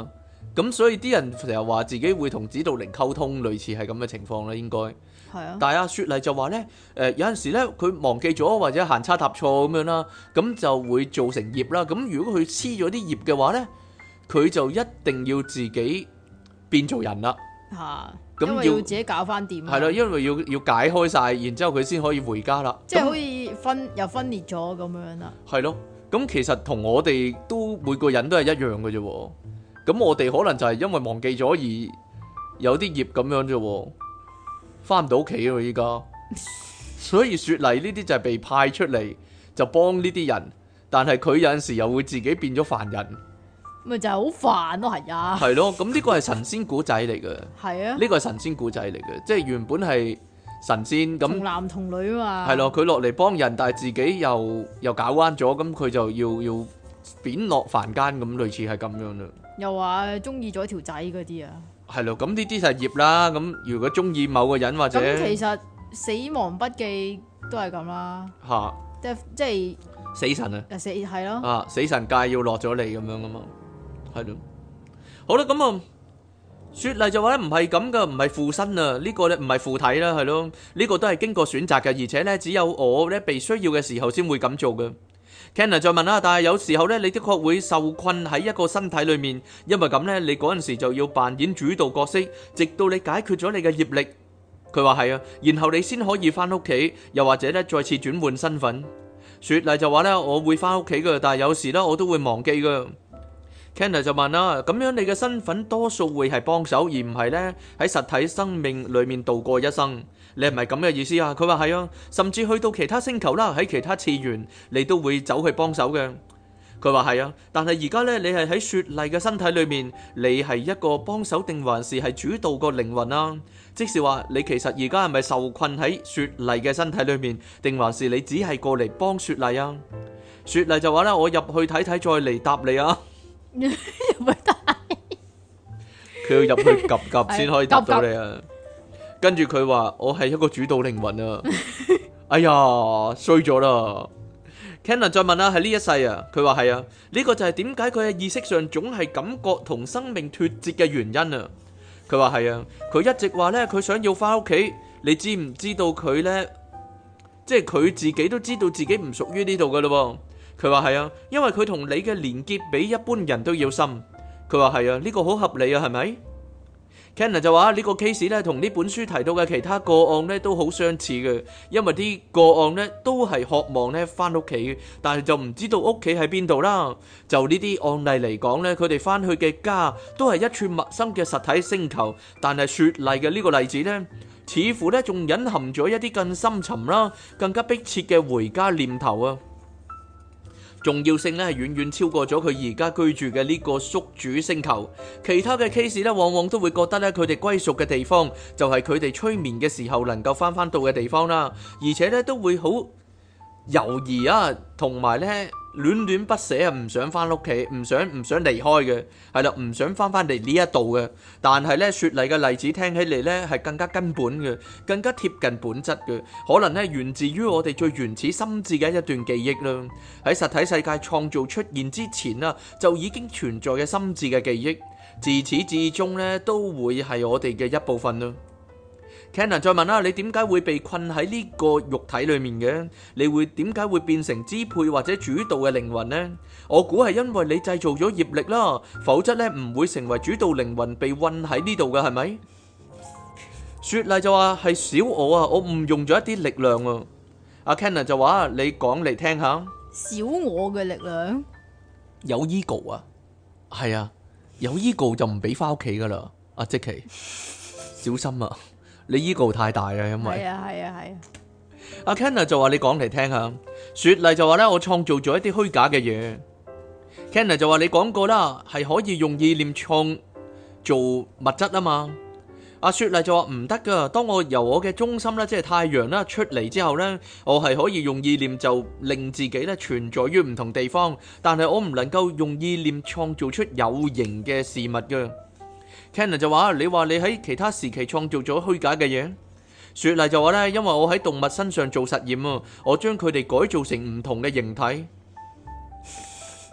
[SPEAKER 2] 咁所以啲人成日話自己會同指導靈溝通，類似係咁嘅情況啦，應該。
[SPEAKER 1] 係啊，
[SPEAKER 2] 但係阿雪麗就話咧，有陣時咧佢忘記咗或者行差踏錯咁樣啦，咁就會造成業啦。咁如果佢黐咗啲業嘅話咧，佢就一定要自己變做人啦。
[SPEAKER 1] 嚇，
[SPEAKER 2] 咁
[SPEAKER 1] 因為要自己搞翻掂。
[SPEAKER 2] 係啦，因為要解開晒，然之後佢先可以回家啦。
[SPEAKER 1] 即係好似又分裂咗咁樣啦。
[SPEAKER 2] 係咯，咁其實同我哋都每個人都係一樣嘅啫喎。咁我哋可能就係因為忘記咗而有啲業咁樣啫喎，翻唔到屋企喎依家。所以雪莉呢啲就係被派出嚟就幫呢啲人，但係佢有陣時又會自己變咗凡人。
[SPEAKER 1] 咪就係好煩咯，係啊。
[SPEAKER 2] 係咯，咁呢個係神仙古仔嚟嘅。
[SPEAKER 1] 係啊。
[SPEAKER 2] 呢個係神仙古仔嚟嘅，即係原本係神仙咁。
[SPEAKER 1] 童男童女啊嘛。
[SPEAKER 2] 係咯，佢落嚟幫人，但係自己又搞彎咗，咁佢就要貶落凡間咁，類似係咁樣啦。
[SPEAKER 1] 又話中意咗條仔嗰啲啊。
[SPEAKER 2] 係咯，咁呢啲就係業啦。咁如果中意某個人或者
[SPEAKER 1] 咁，其實死亡筆記都係咁啦。
[SPEAKER 2] 嚇，
[SPEAKER 1] 即係
[SPEAKER 2] 死神啊！
[SPEAKER 1] 係咯。
[SPEAKER 2] 啊，死神界要落咗嚟咁樣噶嘛，係咯。好啦，咁啊，雪莉就話咧唔係咁噶，唔係附身啊，呢個咧唔係附體啦，係咯，呢個都係經過選擇嘅，而且咧只有我咧被需要嘅時候先會咁做嘅。Cannon 再問啦，但係有時候咧，你的確會受困喺一個身體裏面，因為咁咧，你嗰陣時就要扮演主導角色，直到你解決咗你嘅業力。佢話係啊，然後你先可以翻屋企，又或者咧再次轉換身份。雪莉就話咧，我會翻屋企噶，但係有時咧我都會忘記噶。Cannon 就問啦，咁樣你嘅身份多數會係幫手，而唔係咧喺實體生命裏面度過一生。你係咪咁嘅意思啊？佢話係啊，甚至去到其他星球啦，喺其他次元，你都會走去幫手嘅。佢話係啊，但係而家咧，你係喺雪莉嘅身體裏面，你係一個幫手定還是係主導個靈魂啊？即是話你其實而家係咪受困喺雪莉嘅身體裏面，定還是你只係過嚟幫雪莉啊？雪莉就話咧，我入去睇睇，再嚟答你啊。
[SPEAKER 1] 入去睇，
[SPEAKER 2] 佢要入去及及先可以答到你啊。跟住佢話我係一個主導靈魂啊。哎呀，衰咗啦。Cannon 再問啦，係呢一世啊？佢話係啊，呢個就係點解佢喺意識上總係感覺同生命脫節嘅原因啊。佢話係啊，佢一直話呢，佢想要翻屋企。你知唔知道佢呢？即係佢自己都知道自己唔屬於呢度噶咯。佢話係啊，因為佢同你嘅連結比一般人都要深。佢話係啊，呢個好合理啊，係咪？Cannon 就話呢個 case 咧，同呢本書提到嘅其他個案咧都好相似嘅，因為啲個案咧都係渴望咧翻屋企，但係就唔知道屋企喺邊度啦。就呢啲案例嚟講咧，佢哋翻去嘅家都係一處陌生嘅實體星球，但係雪莉嘅呢個例子咧，似乎咧仲隱含咗一啲更深沉啦、更加迫切嘅回家念頭啊！重要性咧係遠遠超過咗佢而家居住嘅呢個宿主星球。其他嘅 case 咧，往往都會覺得咧佢哋歸屬嘅地方就係佢哋催眠嘅時候能夠翻到嘅地方啦，而且咧都會好猶豫啊，同埋咧戀戀不捨啊，唔想翻屋企，唔想離開嘅，係啦，唔想翻嚟呢一度嘅。但係咧雪莉嘅例子聽起嚟咧係更加根本嘅，更加貼近本質嘅，可能咧源自於我哋最原始心智嘅一段記憶啦。喺實體世界創造出現之前啊，就已經存在嘅心智嘅記憶，自始至終咧都會係我哋嘅一部分啦。Cannon 再問啦，你點解會被困喺呢個肉體裏面嘅？你會點解會變成支配或者主導嘅靈魂呢？我估係因為你製造咗業力啦，否則咧唔會成為主導靈魂被困喺呢度嘅，係咪？雪莉就話係小我啊，我誤用咗一啲力量啊。阿 Cannon 就話你講嚟聽下。
[SPEAKER 1] 小我嘅力量
[SPEAKER 2] 有 ego 啊，係啊，有 ego 就唔俾翻屋企噶啦。阿即奇，小心啊！你 ego 太大啊，因為
[SPEAKER 1] 係啊。
[SPEAKER 2] 阿 Kenna 就話你講嚟聽下，雪莉就話咧我創造咗一啲虛假嘅嘢。Kenna 就話你講過啦，係可以用意念創造物質啊嘛。阿雪莉就話唔得噶，當我由我嘅中心咧，即係太陽啦出嚟之後咧，我係可以用意念就令自己咧存在於唔同地方，但係我唔能夠用意念創造出有形嘅事物噶。Cannon 就話：你話你喺其他時期創造咗虛假嘅嘢。雪莉就話咧，因為我喺動物身上做實驗啊，我將佢哋改造成唔同嘅形體。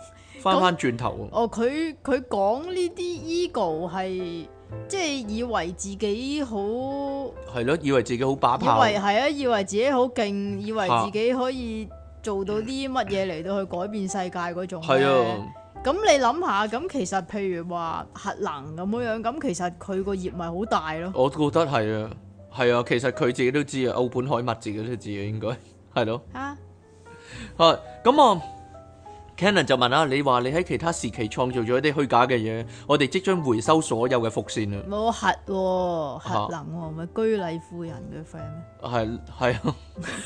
[SPEAKER 2] 翻轉頭。
[SPEAKER 1] 哦，佢講呢啲 ego 係即係以為自己好，
[SPEAKER 2] 係咯，以為自己好把
[SPEAKER 1] 以
[SPEAKER 2] 炮，
[SPEAKER 1] 為係啊，以為自己好勁，以為自己可以做到啲乜嘢嚟到去改變世界嗰種
[SPEAKER 2] 係啊。
[SPEAKER 1] 咁你諗下，咁其實譬如話核能咁樣，咁其實佢個業咪好大咯。
[SPEAKER 2] 我覺得係啊，係啊，其實佢自己都知啊，奧本海默自己都知啊，應該係咯。
[SPEAKER 1] 啊，
[SPEAKER 2] 咁啊 Cannon 就問啦，你話你喺其他時期創造咗一啲虛假嘅嘢，我哋即將回收所有嘅伏線啊。
[SPEAKER 1] 冇核能喎，咪居禮婦人嘅 friend 咩？
[SPEAKER 2] 係啊。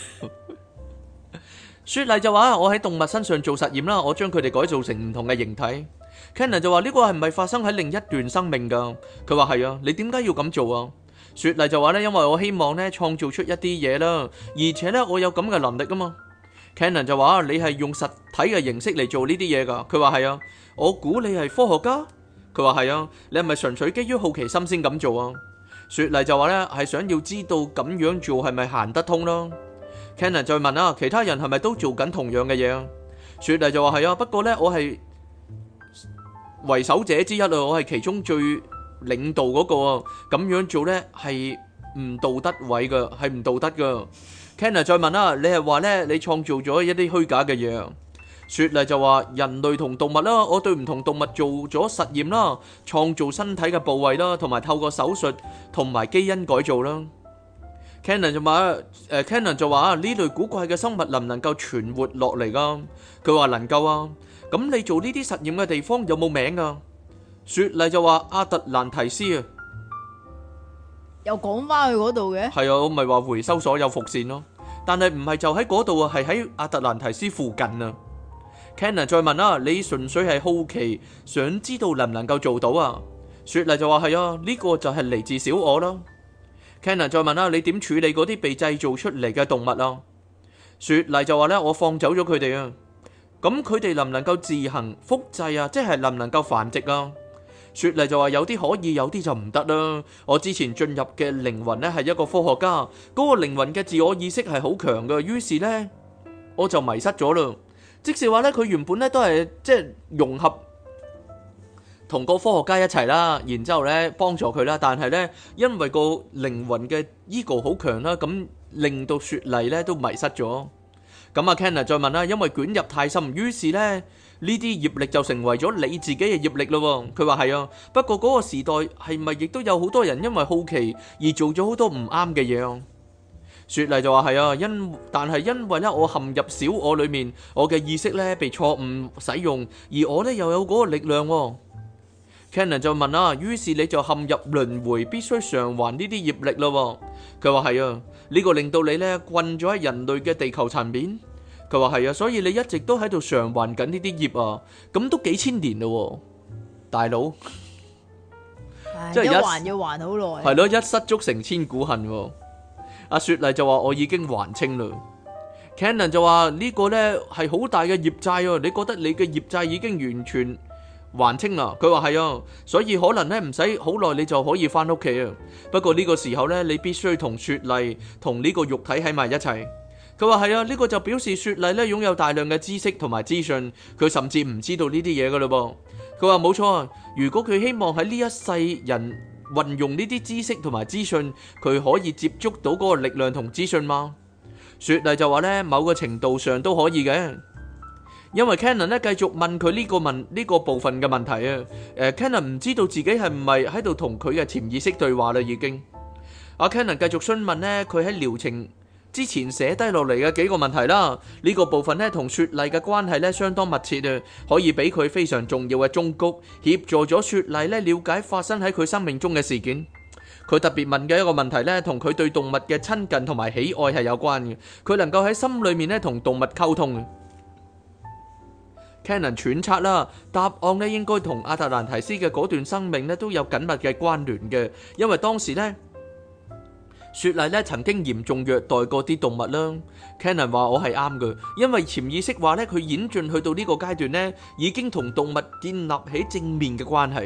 [SPEAKER 2] 雪莉就話我喺動物身上做實驗啦，我將佢哋改造成唔同嘅形體。Cannon 就話呢個係唔係發生喺另一段生命噶？佢話係啊，你點解要咁做啊？雪莉就話呢，因為我希望呢創造出一啲嘢啦，而且呢，我有咁嘅能力啊嘛。Cannon 就話你係用實體嘅形式嚟做呢啲嘢噶？佢話係啊，我估你係科學家。佢話係啊，你係咪純粹基於好奇心先咁做啊？雪莉就話呢，係想要知道咁樣做係咪行得通咯。Cannon 再問啊，其他人係咪都做緊同樣嘅嘢啊？雪莉就話係啊，不過呢，我係為首者之一啊，我係其中最領導嗰個啊，咁樣做呢係唔道德位噶，係唔道德噶。Cannon 再問啊，你係話呢，你創造咗一啲虛假嘅嘢啊？雪莉就話人類同動物啦，我對唔同動物做咗實驗啦，創造身體嘅部位啦，同埋透過手術同埋基因改造啦。Cannon 就話呢類古怪嘅生物能唔能夠存活落嚟噶？佢話能夠啊。咁你做呢啲實驗嘅地方有冇名噶？雪莉就話阿特蘭提斯啊。
[SPEAKER 1] 又講翻去嗰度嘅？
[SPEAKER 2] 係啊，我咪話回收所有伏線咯。但係唔係就喺嗰度啊，係喺阿特蘭提斯附近啊。Cannon 再問啊，你純粹係好奇，想知道能唔能夠做到啊？雪莉就話係啊，呢個就係嚟自小我啦。Cannon 再問啦，你點處理嗰啲被製造出嚟嘅動物啊？雪莉就話咧，我放走咗佢哋啊。咁佢哋能唔能夠自行複製啊？即係能唔能夠繁殖啊？雪莉就話有啲可以，有啲就唔得啦。我之前進入嘅靈魂咧係一個科學家，嗰個靈魂嘅自我意識係好強嘅，於是呢，我就迷失咗啦。即是話咧，佢原本咧都係即係融合同個科學家一齊啦，然之後咧幫助佢啦。但係咧，因為個靈魂嘅 ego 好強啦，咁令到雪莉咧都迷失咗。咁啊 Cannon 再問啦，因為捲入太深，於是咧呢啲業力就成為咗你自己嘅業力咯。佢話係啊，不過嗰個時代係咪亦都有好多人因為好奇而做咗好多唔啱嘅嘢啊？雪莉就話係啊，但係因為咧我陷入小我裏面，我嘅意識咧被錯誤使用，而我咧又有嗰個力量。Cannon 就問啊，於是你就陷入輪迴，必須償還呢啲業力咯。佢話係啊，呢個令到你咧困咗喺人類嘅地球層面。佢話係啊，所以你一直都喺度償還緊呢啲業啊，咁都幾千年咯，大佬。
[SPEAKER 1] 即係一還要還好耐。
[SPEAKER 2] 係咯，一失足成千古恨。阿雪莉就話我已經還清啦。Cannon 就話呢個呢係好大嘅業債啊，你覺得你嘅業債已經完全還清啦？佢話係啊，所以可能呢唔使好耐你就可以翻屋企啊。不過呢個時候呢，你必須同雪莉同呢個肉體喺埋一齊。佢話係啊，呢個就表示雪莉呢擁有大量嘅知識同埋資訊，佢甚至唔知道呢啲嘢噶嘞噃。佢話冇錯啊，如果佢希望喺呢一世人運用呢啲知識同埋資訊，佢可以接觸到嗰個力量同資訊嗎？雪莉就話呢，某個程度上都可以嘅，因為 Cannon 呢繼續問佢呢個部分嘅問題啊。Cannon 唔知道自己係唔係喺度同佢嘅潛意識對話啦，已經。阿 Cannon 繼續詢問呢，佢喺療程之前寫低落嚟嘅幾個問題啦，呢個部分呢同雪莉嘅關係呢相當密切啊，可以俾佢非常重要嘅忠告，協助咗雪莉呢了解發生喺佢生命中嘅事件。佢特別問嘅一個問題呢，同佢對動物嘅親近同埋喜愛係有關嘅，佢能夠喺心裏面呢同動物溝通。Cannon 揣測啦，答案呢應該同阿特蘭提斯嘅嗰段生命呢都有緊密嘅關聯嘅，因為當時呢，雪莉咧曾經嚴重虐待過啲動物啦。Cannon 話我係啱嘅，因為潛意識話咧佢演進去到呢個階段咧，已經同動物建立起正面嘅關係。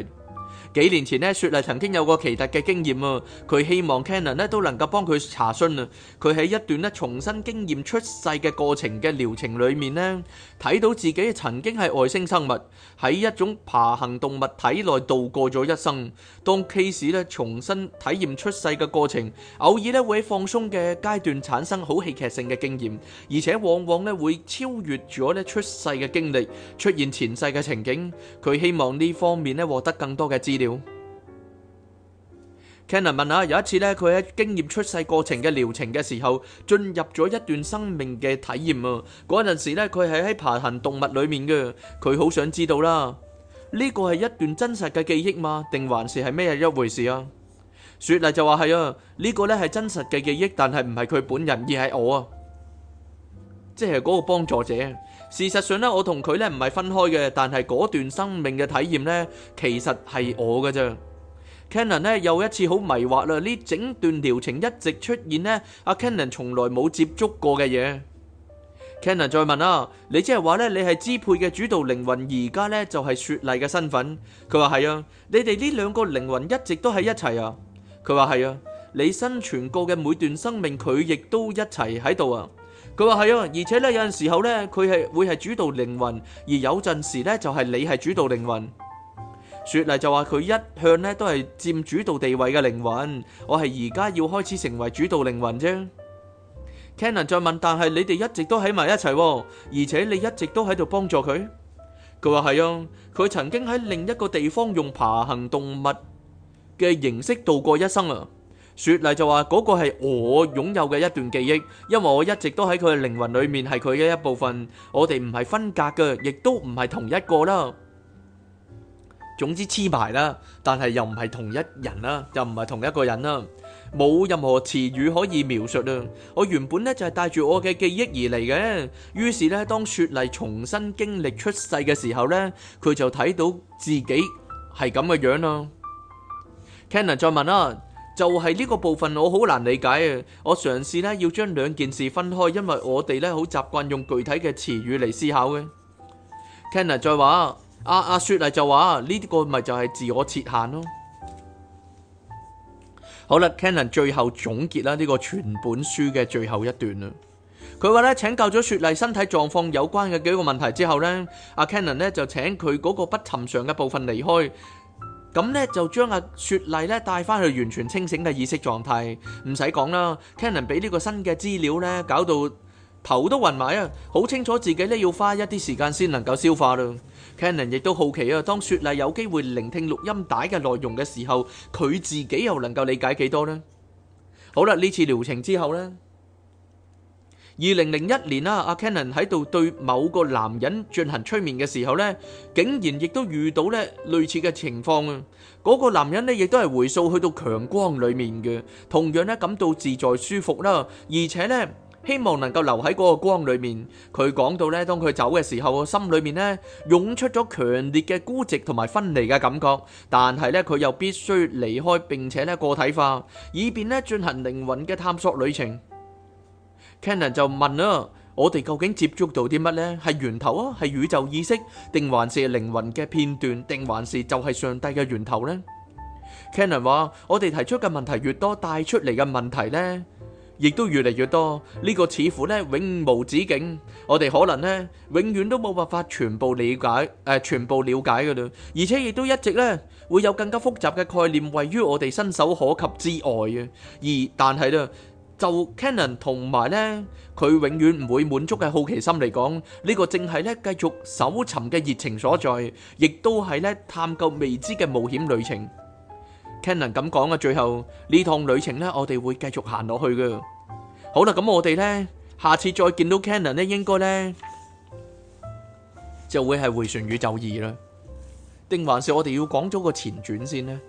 [SPEAKER 2] 幾年前呢，雪莉曾經有個奇特嘅經驗啊，佢希望 Cannon 呢都能夠幫佢查詢啊。佢喺一段呢重新經驗出世嘅過程嘅療程裏面呢，睇到自己曾經係外星生物，喺一種爬行動物體內度過咗一生。當 case 呢重新體驗出世嘅過程，偶爾呢會喺放鬆嘅階段產生好戲劇性嘅經驗，而且往往呢會超越咗呢出世嘅經歷，出現前世嘅情景。佢希望呢方面呢獲得更多嘅資料。Cannon 問啊，有一次咧，佢喺經驗出世過程嘅療程嘅時候，進入咗一段生命嘅體驗啊。嗰陣時咧，佢係喺爬行動物裏面嘅，佢好想知道啦，呢個係一段真實嘅記憶嗎？定還是係咩一回事啊？雪莉就話係啊，呢個咧係真實嘅記憶，但係唔係佢本人，而係我啊，即係嗰個幫助者。事實上咧，我同佢咧唔係分開嘅，但係嗰段生命嘅體驗咧，其實係我嘅啫。Cannon 咧又一次好迷惑啦，呢整段療程一直出現呢阿 Cannon 從來冇接觸過嘅嘢。Cannon 再問啊，你即係話咧你係支配嘅主導靈魂，而家咧就係雪莉嘅身份？佢話係啊，你哋呢兩個靈魂一直都喺一齊啊。佢話係啊，你生存過嘅每段生命佢亦都一齊喺度啊。佢話係啊，而且咧有陣時候咧佢係會係主導靈魂，而有陣時咧就係你係主導靈魂。雪莉就話佢一向咧都係佔主導地位嘅靈魂，我係而家要開始成為主導靈魂啫。Cannon 再問，但係你哋一直都喺埋一齊，而且你一直都喺度幫助佢。佢話係啊，佢曾經喺另一個地方用爬行動物嘅形式度過一生啊。雪莉就話嗰個係我擁有嘅一段記憶，因為我一直都喺佢嘅靈魂裏面，係佢嘅一部分，我哋唔係分隔嘅，亦都唔係同一個啦。總之黐埋啦，但係又唔係同一人啦，又唔係同一個人啦，冇任何詞語可以描述啊！我原本咧就係帶住我嘅記憶而嚟嘅，於是咧當雪莉重新經歷出世嘅時候咧，佢就睇到自己係咁嘅樣啦。Cannon 再問啦，就係呢個部分我好難理解啊！我嘗試咧要將兩件事分開，因為我哋咧好習慣用具體嘅詞語嚟思考嘅。Cannon 再話。阿雪莉就話呢個咪就係自我設限咯。好啦 ，Cannon 最後總結啦，呢個全本書嘅最後一段啦。佢話咧，請教咗雪莉身體狀況有關嘅幾個問題之後咧，阿 Cannon 咧就請佢嗰個不尋常嘅部分離開，咁咧就將阿雪莉咧帶翻去完全清醒嘅意識狀態。唔使講啦 ，Cannon 俾呢個新嘅資料咧，搞到頭都暈埋啊！好清楚自己咧要花一啲時間先能夠消化啦。Cannon 亦都好奇啊，當雪莉有機會聆聽錄音帶嘅內容嘅時候，佢自己又能夠理解幾多呢？好啦，呢次療程之後呢，2001年啦，阿 Cannon 喺度對某個男人進行催眠嘅時候呢，竟然亦都遇到咧類似嘅情況啊！嗰個男人呢，亦都係回溯去到強光裡面嘅，同樣咧感到自在舒服啦，而且呢，希望能夠留喺嗰個光裏面。佢講到咧，當佢走嘅時候，心裏面咧湧出咗強烈嘅孤寂同埋分離嘅感覺。但係咧，佢又必須離開並且咧個體化，以便咧進行靈魂嘅探索旅程。Cannon 就問啦：我哋究竟接觸到啲乜呢？係源頭啊，係宇宙意識，定還是靈魂嘅片段，定還是就係上帝嘅源頭呢？Cannon 話：我哋提出嘅問題越多，帶出嚟嘅問題呢，亦都越嚟越多，呢個似乎咧永無止境。我哋可能咧永遠都冇辦法全部了解，全部了解㗎啦。而且亦都一直咧會有更加複雜嘅概念位於我哋伸手可及之外嘅。但係咧，就 Cannon 同埋咧佢永遠唔會滿足嘅好奇心嚟講，呢個正係咧繼續搜尋嘅熱情所在，亦都係咧探究未知嘅冒險旅程。Cannon 咁講嘅，最後呢趟旅程呢，我哋會繼續行落去嘅。好啦，咁我哋呢，下次再見到 Cannon 呢，應該呢就會係迴旋宇宙2啦，定還是我哋要講咗個前傳先呢？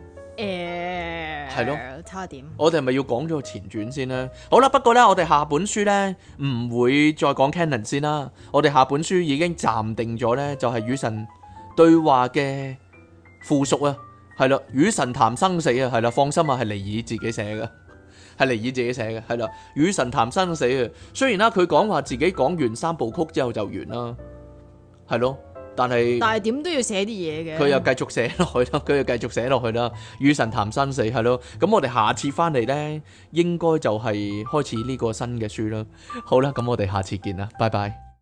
[SPEAKER 2] 係咯，
[SPEAKER 1] 差一點。
[SPEAKER 2] 我哋係咪要講咗個前傳先呢？好啦，不過呢，我哋下本書呢唔會再講 Cannon 先啦。我哋下本書已經暫定咗呢，就係與神對話嘅附屬啊。係啦，與神談生死啊，係啦，放心啊，係尼爾自己寫嘅，係尼爾自己寫嘅，係啦，與神談生死啊。雖然啦，佢講話自己講完3部曲之後就完啦，係咯， 但係
[SPEAKER 1] 但係點都要寫啲嘢嘅。
[SPEAKER 2] 佢又繼續寫落去啦，佢又繼續寫落去啦。與神談生死係咯，咁我哋下次翻嚟呢，應該就係開始呢個新嘅書啦。好啦，咁我哋下次見啦，拜拜。